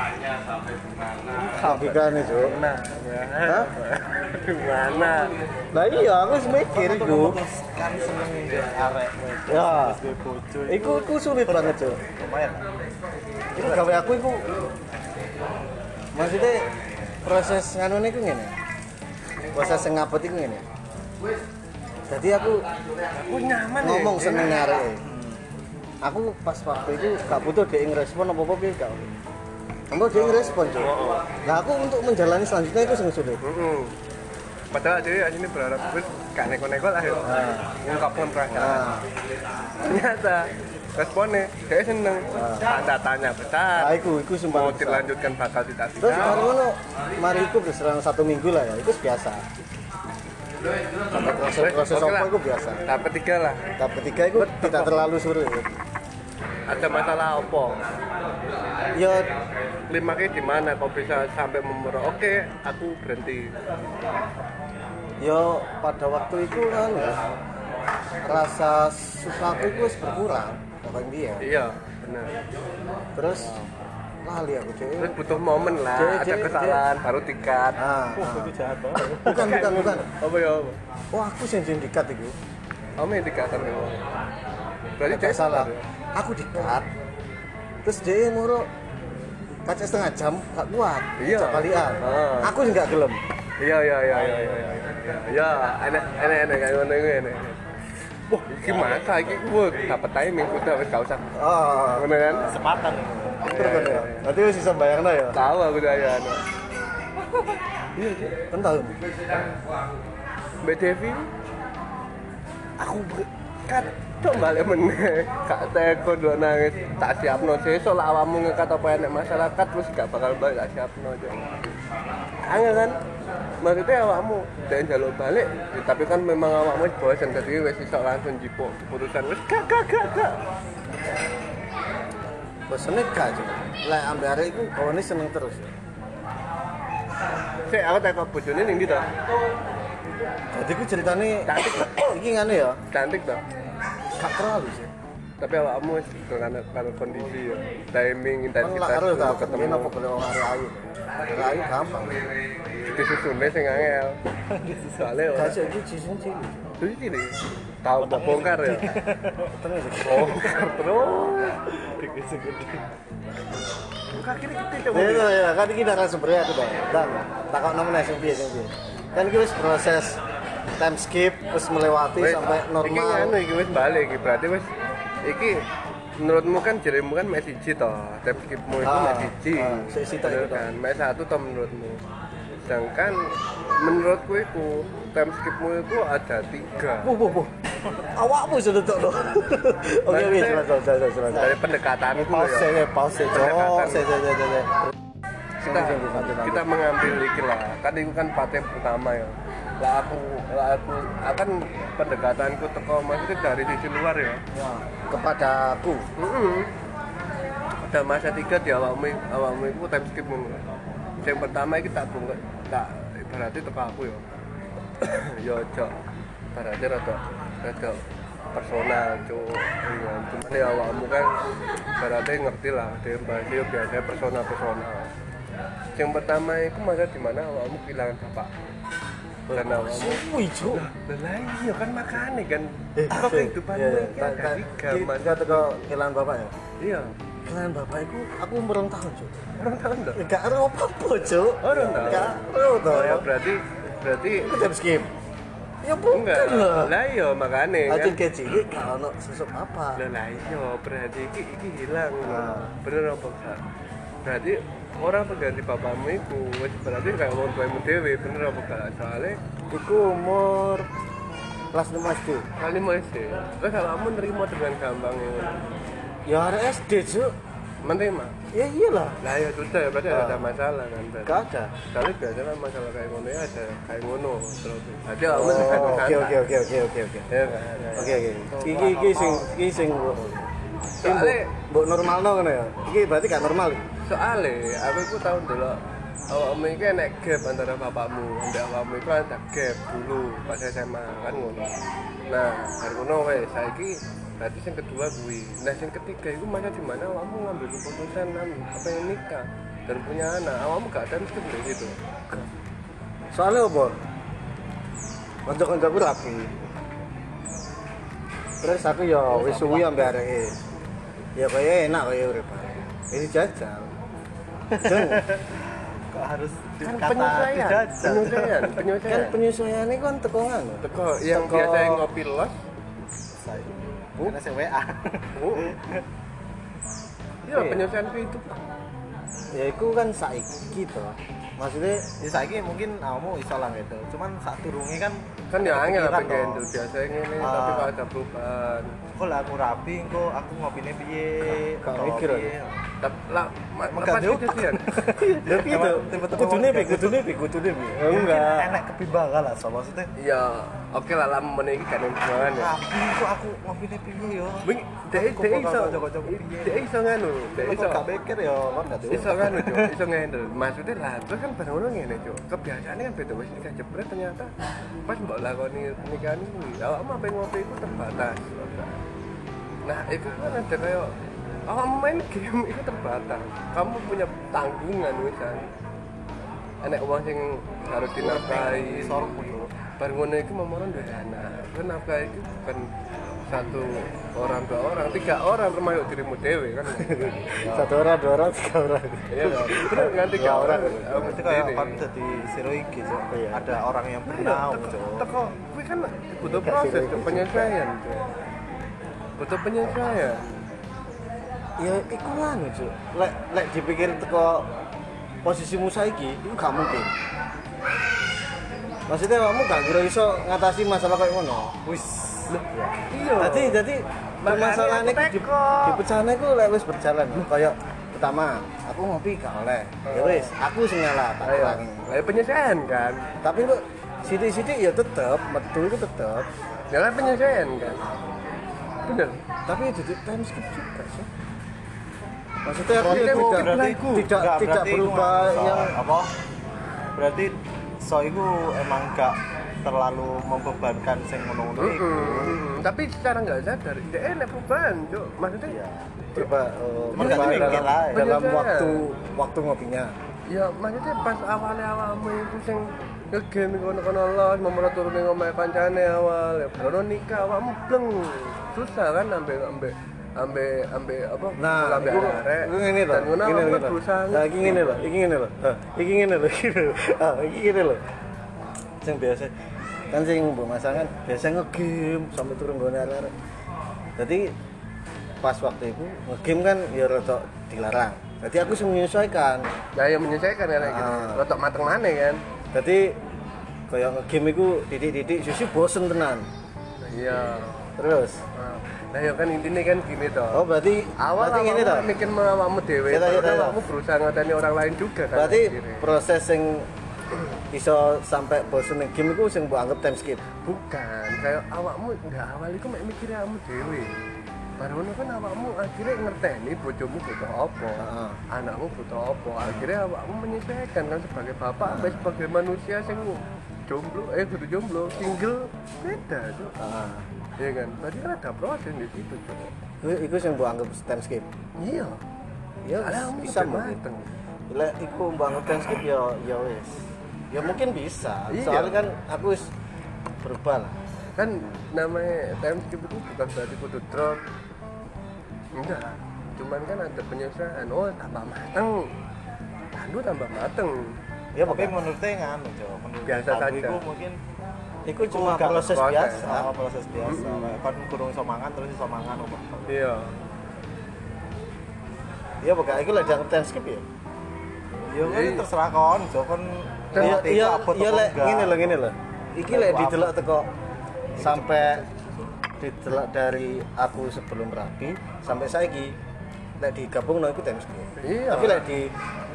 S3: Logika nih, Cuk.
S1: Nah,
S3: Hah?
S1: gimana?
S3: Lah iya, aku wis mikir iku.
S2: Kan seneng ya arek
S3: Ya.
S2: wis duwe bojo.
S3: Iku sulit banget, Cuk.
S2: Lumayan.
S3: Iku gawe aku iku maksudnya proses nganu iku ngene. Proses ngabot iku ngene. Jadi aku
S1: Nyaman
S3: ngomong
S1: ya.
S3: seneng arek. Aku pas waktu itu gak butuh dia ngerespon apa-apa piye gak. Kamu dia ngerespon, Cuk. Nah, aku untuk menjalani selanjutnya itu sing sulit.
S1: Padahal dia sini berharap gue gak neko-neko lah ya. Ngungkapkan perasaan.
S3: Nah,
S1: Ternyata responnya dia seneng. Tanda tanya besar.
S3: nah iku sumpah.
S1: Mau
S3: besar.
S1: dilanjutkan bakal tidak
S3: Terus baru ngono, mari iku berserang 1 minggu lah ya, itu biasa. Sampai proses
S1: Oke
S3: apa
S1: lah.
S3: itu biasa.
S1: Tahap ketiga lah.
S3: Tahap ketiga itu tidak terlalu sulit.
S1: Ada masalah apa?
S3: Ya,
S1: Klimaknya di mana? Kok bisa sampai memerah? Oke, aku berhenti.
S3: ya pada waktu itu kan ya, rasa susahku itu wis berkurang, kayak dia.
S1: Iya, benar.
S3: Terus lali aku cuy.
S1: Terus butuh momen lah, ada
S3: Cek,
S1: kesalahan, baru tikat.
S3: Nah,
S2: Itu jahat banget.
S3: bukan.
S1: Apa ya? Apa?
S3: Oh, aku sing dikat itu.
S1: Kamu yang tikatan ya? Berarti
S3: Tidak
S1: dia
S3: salah.
S1: ya?
S3: Aku dikat. Terus dia muru kaca setengah jam gak kuat.
S1: Iya.
S3: Cak kalian.
S1: Ah.
S3: Aku sih gak gelem.
S1: Iya. Ya, enak kayak ngono iku enak. Wah, gimana iki wah dapat timing udah wis gak usah.
S3: Oh,
S1: Ngono kan?
S2: Kesempatan.
S3: bener ya. Nanti wis bisa bayangno ya.
S1: Tahu aku saya anu.
S3: Kan tahu.
S1: Mbak Devi aku kan cok balik meneh gak teko do nangis tak siapno sesuk lah awakmu ngekat apa enek masyarakat terus gak bakal balik tak siapno cok. Angel kan maksudnya awakmu dan jaluk balik ya, tapi kan memang awakmu wis bosen jadi wis iso langsung jipuk keputusan wis gak
S3: Bosone gak cuy. Lek ambek arek iku kawane seneng terus.
S1: sik aku teko bojone ning ndi to
S3: Jadi ku ceritane
S1: Cantik.
S3: iki ngene ya,
S1: cantik to
S3: gak terlalu sih.
S1: tapi awakmu wis karena kondisi ya timing
S3: Kan
S1: intensitas
S3: lak karo tak
S1: ketemu
S3: ketemu apa golek wong arek ayu. Arek ayu gampang.
S1: disusune sing angel soalnya
S3: Gak
S1: ora
S3: sih iki jisun cilik.
S1: terus ini tahu mau bongkar ya
S3: Tenang sih.
S1: bongkar terus kaki ini gede coba
S3: Ya ya kan iki narasumbernya aku dah. Dan takon nomene sing piye sing piye. Kan iki wis proses time skip wis melewati
S1: Wes,
S3: sampai
S1: iki
S3: normal.
S1: anu iki wis balik iki berarti wis iki menurutmu kan jarimu kan match siji toh time skipmu itu
S3: Ah,
S1: match siji
S3: sik sitok
S1: bener
S3: itu toh.
S1: kan match satu toh menurutmu sedangkan menurutku itu time skipmu itu ada 3
S3: Bu. Awakmu sudah tok dong. Oke, selesai.
S1: dari pendekatanku
S3: Pause
S1: ya
S3: ya, pause.
S1: Pendekatan.
S3: Kita
S1: kita mengambil iki lah kan itu kan paten pertama ya lah aku akan pendekatanku teko maksudnya dari sisi luar ya
S3: kepada aku.
S1: Ada masa 3 di awakmu itu time skip ngono. Yang pertama iki tak bongkar tak berarti teko aku ya. Ya ojo. Berarti rada personal cuk. Iya, cuman ya awakmu kan berarti ngerti lah dia bahas dia biasanya personal. Yang pertama itu masa di mana awakmu kehilangan bapak. Dan awakmu
S3: Wih, Cuk.
S1: lah iya kan makane kan. Kok kehidupanmu iki ada 3 mas.
S3: Kita teko kehilangan bapak ya.
S1: Iya.
S3: Kehilangan bapak itu aku umur 2 tahun, Cuk.
S1: Orang tahu enggak?
S3: Gak ada apa-apa, Cuk.
S1: Oh, orang tahu.
S3: Gak ada toh.
S1: Oh ya berarti
S3: Aku jam skip. Ya bukan
S1: enggak.
S3: lah.
S1: Lah iya makane kan.
S3: Acil kecil gak ono susuk apa.
S1: Lah iya berarti iki hilang.
S3: Nah.
S1: Bener apa enggak? Berarti orang pengganti bapakmu itu wis berarti kayak wong tuamu dhewe bener apa enggak? Soalnya
S3: Iku umur kelas 5 SD.
S1: kali mau SD. Terus kamu nerima dengan gampang ya.
S3: Ya ada SD, Cuk.
S1: Menerima.
S3: Ya iyalah.
S1: Lah ya sudah ya berarti ada masalah kan berarti.
S3: Gak ada.
S1: Soalnya biasanya masalah kayak ngono ya ada kayak ngono terus. Jadi
S3: Oh,
S1: kamu
S3: oke.
S1: Ya kan.
S3: Oke. Iki sing
S1: Soalnya
S3: mbok normalno ngono ya. Iki berarti gak normal.
S1: soalnya aku itu tahu dulu awakmu iki enek gap antara bapakmu ambek awakmu iku ada gap dulu pas SMA kan ngono. Nah, bar ngono wis saiki berarti yang kedua kuwi. Nah, yang ketiga iku masa di mana awakmu ngambil keputusan pengen nikah dan punya anak. Awakmu gak ada mesti di situ.
S3: Soalnya apa? Kanca-kancaku rapi. Terus aku ya wis suwi ambek areke. Ya kaya enak kaya urip. Ini jajal.
S2: Kok harus
S1: Kan
S2: kata
S1: penyesuaian.
S2: dijajal?
S3: Kan penyesuaian ini kan teko ngono.
S1: Teko yang
S3: Teko-
S1: biasa ngopi los.
S2: Karena saya WA.
S1: Iya, penyesuaian itu.
S3: Ya itu kan saiki to. Maksudnya
S2: Ya saiki mungkin kamu iso lah gitu. Cuman saat turunnya kan
S1: Kan ya angel
S2: kepikiran
S1: apa
S2: toh.
S1: gendel biasanya ngene tapi kalau ada perubahan.
S2: Kok lah aku rapi, kok aku ngopine piye?
S3: Gak
S2: atau
S3: mikir,
S2: piye.
S1: Tapi lah
S2: Megah
S1: pas
S2: diutak.
S1: kejadian.
S3: ya gitu.
S2: Tiba-tiba
S3: Kudune
S2: ngomong
S3: piye?
S2: kayak
S3: Kudune piye? Kudune piye? Enggak.
S2: Enak kebimbangan lah so maksudnya.
S1: Ya, oke lah lama meniki kan hubungan ya.
S2: Rapi kok aku ngopine piye yo.
S1: Wing, dek iso.
S2: Kocok-kocok piye.
S1: Dek iso nganu, dek
S2: Kok
S1: iso.
S2: gak mikir yo, kan gak diutak.
S1: Iso nganu, Cuk. Iso ngendel. Maksudnya lah, terus kan bareng ngono ngene, Cuk. Kebiasaane kan beda wis nikah jebret ternyata pas mbok lakoni pernikahan kuwi, awakmu apa ngopi itu terbatas. Nah, itu kan ada kayak awakmu main game itu terbatas. Kamu punya tanggungan misalnya. Enek uang sing harus dinafkahi.
S2: Sormu yo.
S1: Bareng ngono iku memoron duwe anak. Kan nafkah itu bukan satu orang, dua orang, tiga orang termasuk dirimu dewe kan.
S3: Satu orang, dua orang, tiga orang.
S1: Iya kan? Terus nganti tiga orang.
S2: Berarti kayak kan jadi zero iki Cok.
S3: Iya.
S2: Ada orang yang bernau Cok.
S1: Teko kuwi kan butuh proses Cuk, penyesuaian. Cuk. Butuh penyesuaian.
S3: Ya iku lan, Cuk. Lek dipikir teko posisimu saiki, itu gak mungkin. Maksudnya kamu gak kira iso ngatasi masalah kayak ngono.
S2: Wis.
S1: Iya.
S3: Jadi permasalahan
S1: Makanya
S3: itu
S1: aku teko.
S3: di pecahane ku lek wis berjalan. Kayak pertama, aku ngopi gak oleh. Ya wis, aku sing ngalah tak
S1: Ayo.
S3: kurangi.
S1: Ayo penyesuaian kan.
S3: Tapi kok sithik-sithik ya tetep, metu itu tetep.
S1: Ya kan penyesuaian kan. Bener.
S3: Tapi itu time skip juga sih. Maksudnya aku
S1: Maksudnya
S3: ya
S1: mau
S3: tidak
S1: kiblatku.
S3: tidak
S2: Enggak,
S3: tidak
S2: berarti
S3: berubah
S2: iku so,
S3: yang
S2: apa? Berarti so iku emang gak terlalu membebankan sing ngono-ngono iku.
S1: Tapi secara nggak sadar, dia enak perubahan, Cuk. Maksudnya
S3: ya, berubah
S2: Makanya
S3: berubah
S2: mikir
S3: dalam,
S2: lah.
S3: dalam
S1: Penyesuaian.
S3: waktu ngopinya.
S1: ya maksudnya pas awalnya awalmu itu sing ngegame kono-kono los, mau turunin ngomong kancane awal, ya baru nikah awakmu bleng. Susah kan ambek apa?
S3: Nah,
S1: ambek
S3: iku
S1: arek.
S3: ngene lho.
S1: Dan ngono
S3: Ngene
S1: awakmu
S3: lho.
S1: berusaha.
S3: Nah, iki ngene lho, iki ngene lho. Iki ngene lho, iki lho. Iki ngene lho. Sing biasa kan sing mbok masang kan biasa ngegame sampai turun nggone arek. Jadi pas waktu itu ngegame kan ya rada dilarang. Jadi aku sing menyesuaikan.
S1: Nah, yang menyesuaikan ya kayak gitu.
S3: Ah.
S1: Rotok mateng maneh kan.
S3: Jadi kayak ngegame iku titik-titik susi bosen tenan.
S1: Nah, iya.
S3: Terus
S1: Nah, ya kan intinya kan gini toh.
S3: oh berarti
S1: Awal
S3: ngene toh.
S1: mikir awakmu dhewe,
S3: Iya, iya,
S1: terus
S3: iya.
S1: awakmu berusaha ngateni orang lain juga kan.
S3: Berarti
S1: akhirnya.
S3: proses sing iso sampai bosen ning game iku sing mbok anggap time skip.
S1: Bukan, kayak awakmu enggak awal iku mek mikir awakmu dhewe. Baru ngono kan awakmu akhirnya ngerteni bojomu butuh apa,
S3: Heeh.
S1: anakmu butuh apa. Akhirnya awakmu menyesuaikan kan sebagai bapak, sampai sebagai manusia sing jomblo, kudu jomblo, single beda, Cuk.
S3: Heeh.
S1: Iya kan? Berarti kan ada proses di situ, Cuk.
S3: Iku sing mbok anggap time skip.
S1: Iya.
S3: Ya
S1: Ada kamu
S3: bisa
S1: lebih
S3: mungkin.
S1: mateng.
S3: Lek iku mbok anggap time skip ya wis. Ya mungkin bisa.
S1: Iya.
S3: Soalnya kan aku wis berubah lah.
S1: Kan namanya time skip itu bukan berarti kudu drop. Enggak. Cuman kan ada penyesuaian. Oh, tambah mateng. Tandu tambah mateng.
S3: Ya
S2: Tapi
S3: pokoknya
S2: menurutnya nganu Cok, menurut
S1: Biasa
S2: aku
S1: saja.
S2: iku mungkin
S3: iku cuma
S2: gak
S3: proses
S1: proses.
S3: biasa.
S2: proses biasa. Kayak kan kurung iso mangan terus iso mangan opo.
S1: Iya.
S3: Ya pokoknya iku lek dianggap time skip ya.
S2: Ya kan
S1: Iya.
S2: terserah kon, Cok kon
S1: Kan
S3: Iya
S2: ngerti
S3: iya
S2: iku apa
S3: iya
S2: atau
S3: lek
S2: enggak.
S3: ngene lho. Iki lek didelok teko sampai didelok dari aku sebelum rapi sampai saiki lek digabung iku time skip.
S1: Iya.
S3: Tapi lek di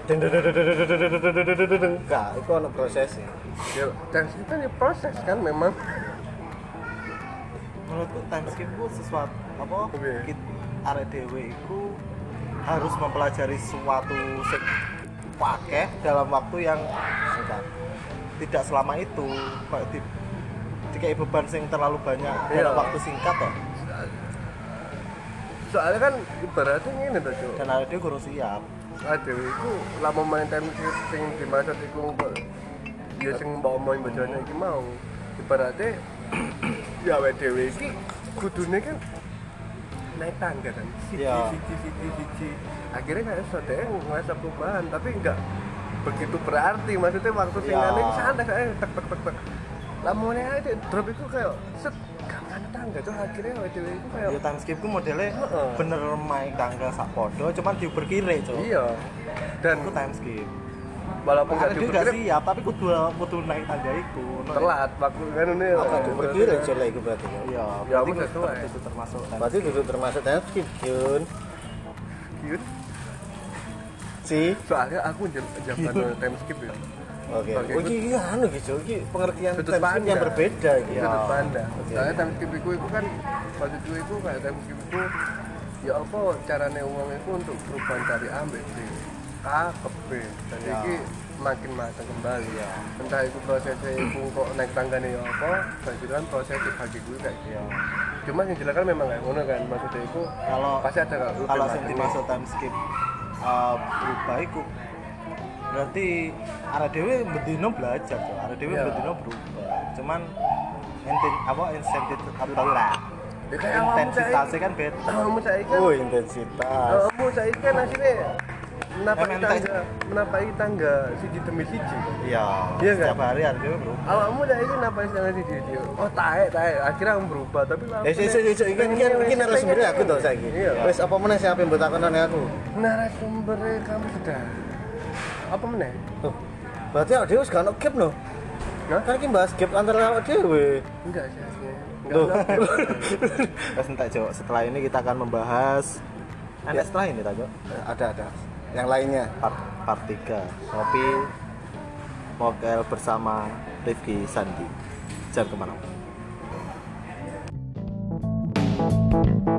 S3: enggak, itu ono prosesnya.
S1: Ya, time skip kan ya proses kan memang.
S2: Menurutku time skip ku sesuatu apa?
S1: Oke.
S2: Arek dhewe iku harus mempelajari suatu sing pakai dalam waktu yang singkat. Tidak selama itu kayak dikai beban sing terlalu banyak dalam
S1: Iya.
S2: waktu singkat toh.
S1: Soalnya kan ibaratnya ngene to, Cuk.
S2: Dan ada dia kurang siap.
S1: Aduh, itu lama main time skip sing dimaksud iku kok ya sing mbok omongin bojone iki mau. Ibaratnya ya awake dhewe iki kudune kan naik tangga kan.
S2: Iya.
S1: Siji. Akhirnya kayak iso deh ngerasa perubahan, tapi enggak begitu berarti. Maksudnya waktu sing
S2: Iya.
S1: ngene iki santai kayak tek. Lamune aja drop itu kayak set gak ada tangga tuh akhirnya awake dhewe iku kayak
S2: Ya time skip ku modelnya
S1: Heeh.
S2: bener main tangga sak podo cuman diuber kiri, Cuk.
S1: iya. Dan
S2: Itu time skip.
S1: walaupun
S2: Karena
S1: gak
S2: dia gak
S1: diperkirain
S2: siap, tapi kudu naik tangga iku.
S1: telat waktu kan ini
S3: Apa tuh berdiri jelek itu berarti ya?
S2: Iya,
S1: Ya, aku
S2: berarti
S1: sesuai.
S2: itu termasuk time
S3: Berarti itu termasuk time skip Jun.
S1: cute.
S3: Si.
S1: Soalnya aku jaman time skip ya.
S3: Oke.
S1: Oke,
S3: Oh iki anu gitu, iki pengertian
S1: Sudut
S3: time skip yang
S1: pandang.
S3: berbeda gitu.
S1: Itu sudut pandang.
S3: Oke.
S1: Soalnya time skip itu kan maksudku itu kayak time skip itu ya apa carane wong itu untuk perubahan dari A sampai B, A ke B. Dan
S2: Ya.
S1: iki makin matang kembali ya. Entah itu prosesnya itu kok naik tanggane ya apa, berarti kan proses dibagi gue kayak gitu.
S2: Iya.
S1: Cuma yang jelas kan memang kayak ngono kan maksudnya itu
S2: Kalau
S1: pasti ada
S2: kalau sing dimaksud time skip berubah iku berarti arek dhewe bendino belajar tuh. Arek dhewe
S1: Iya.
S2: bendino berubah. Cuman insentif intensitasnya kan beda.
S1: kamu saya kan
S3: Oh, intensitas.
S1: kamu saya kan hasilnya menapaki
S2: MNT.
S1: tangga siji demi siji.
S2: Iya.
S1: Iya nggak?
S2: Setiap hari arek dhewe berubah.
S1: Awakmu dah ini napaki tangga siji siji. Oh taek akhirnya kamu berubah tapi lama.
S3: Iki narasumbernya aku tau saiki.
S1: Iya.
S3: Wis apa meneh sing ape mbok takonane aku?
S1: Narasumbernya kamu sudah apa meneh?
S3: Tuh. Berarti awake dhewe wis gak ono gap no.
S1: Hah?
S3: Kan iki bahas gap antara awake dhewe.
S1: Enggak sih.
S3: Loh.
S2: Terus entar Jo, setelah ini kita akan membahas setelah ini tak Jo?
S3: Ada. Yang lainnya.
S2: Part 3 Ngopi Mokel bersama Rifki Sandi. Jangan kemana-mana.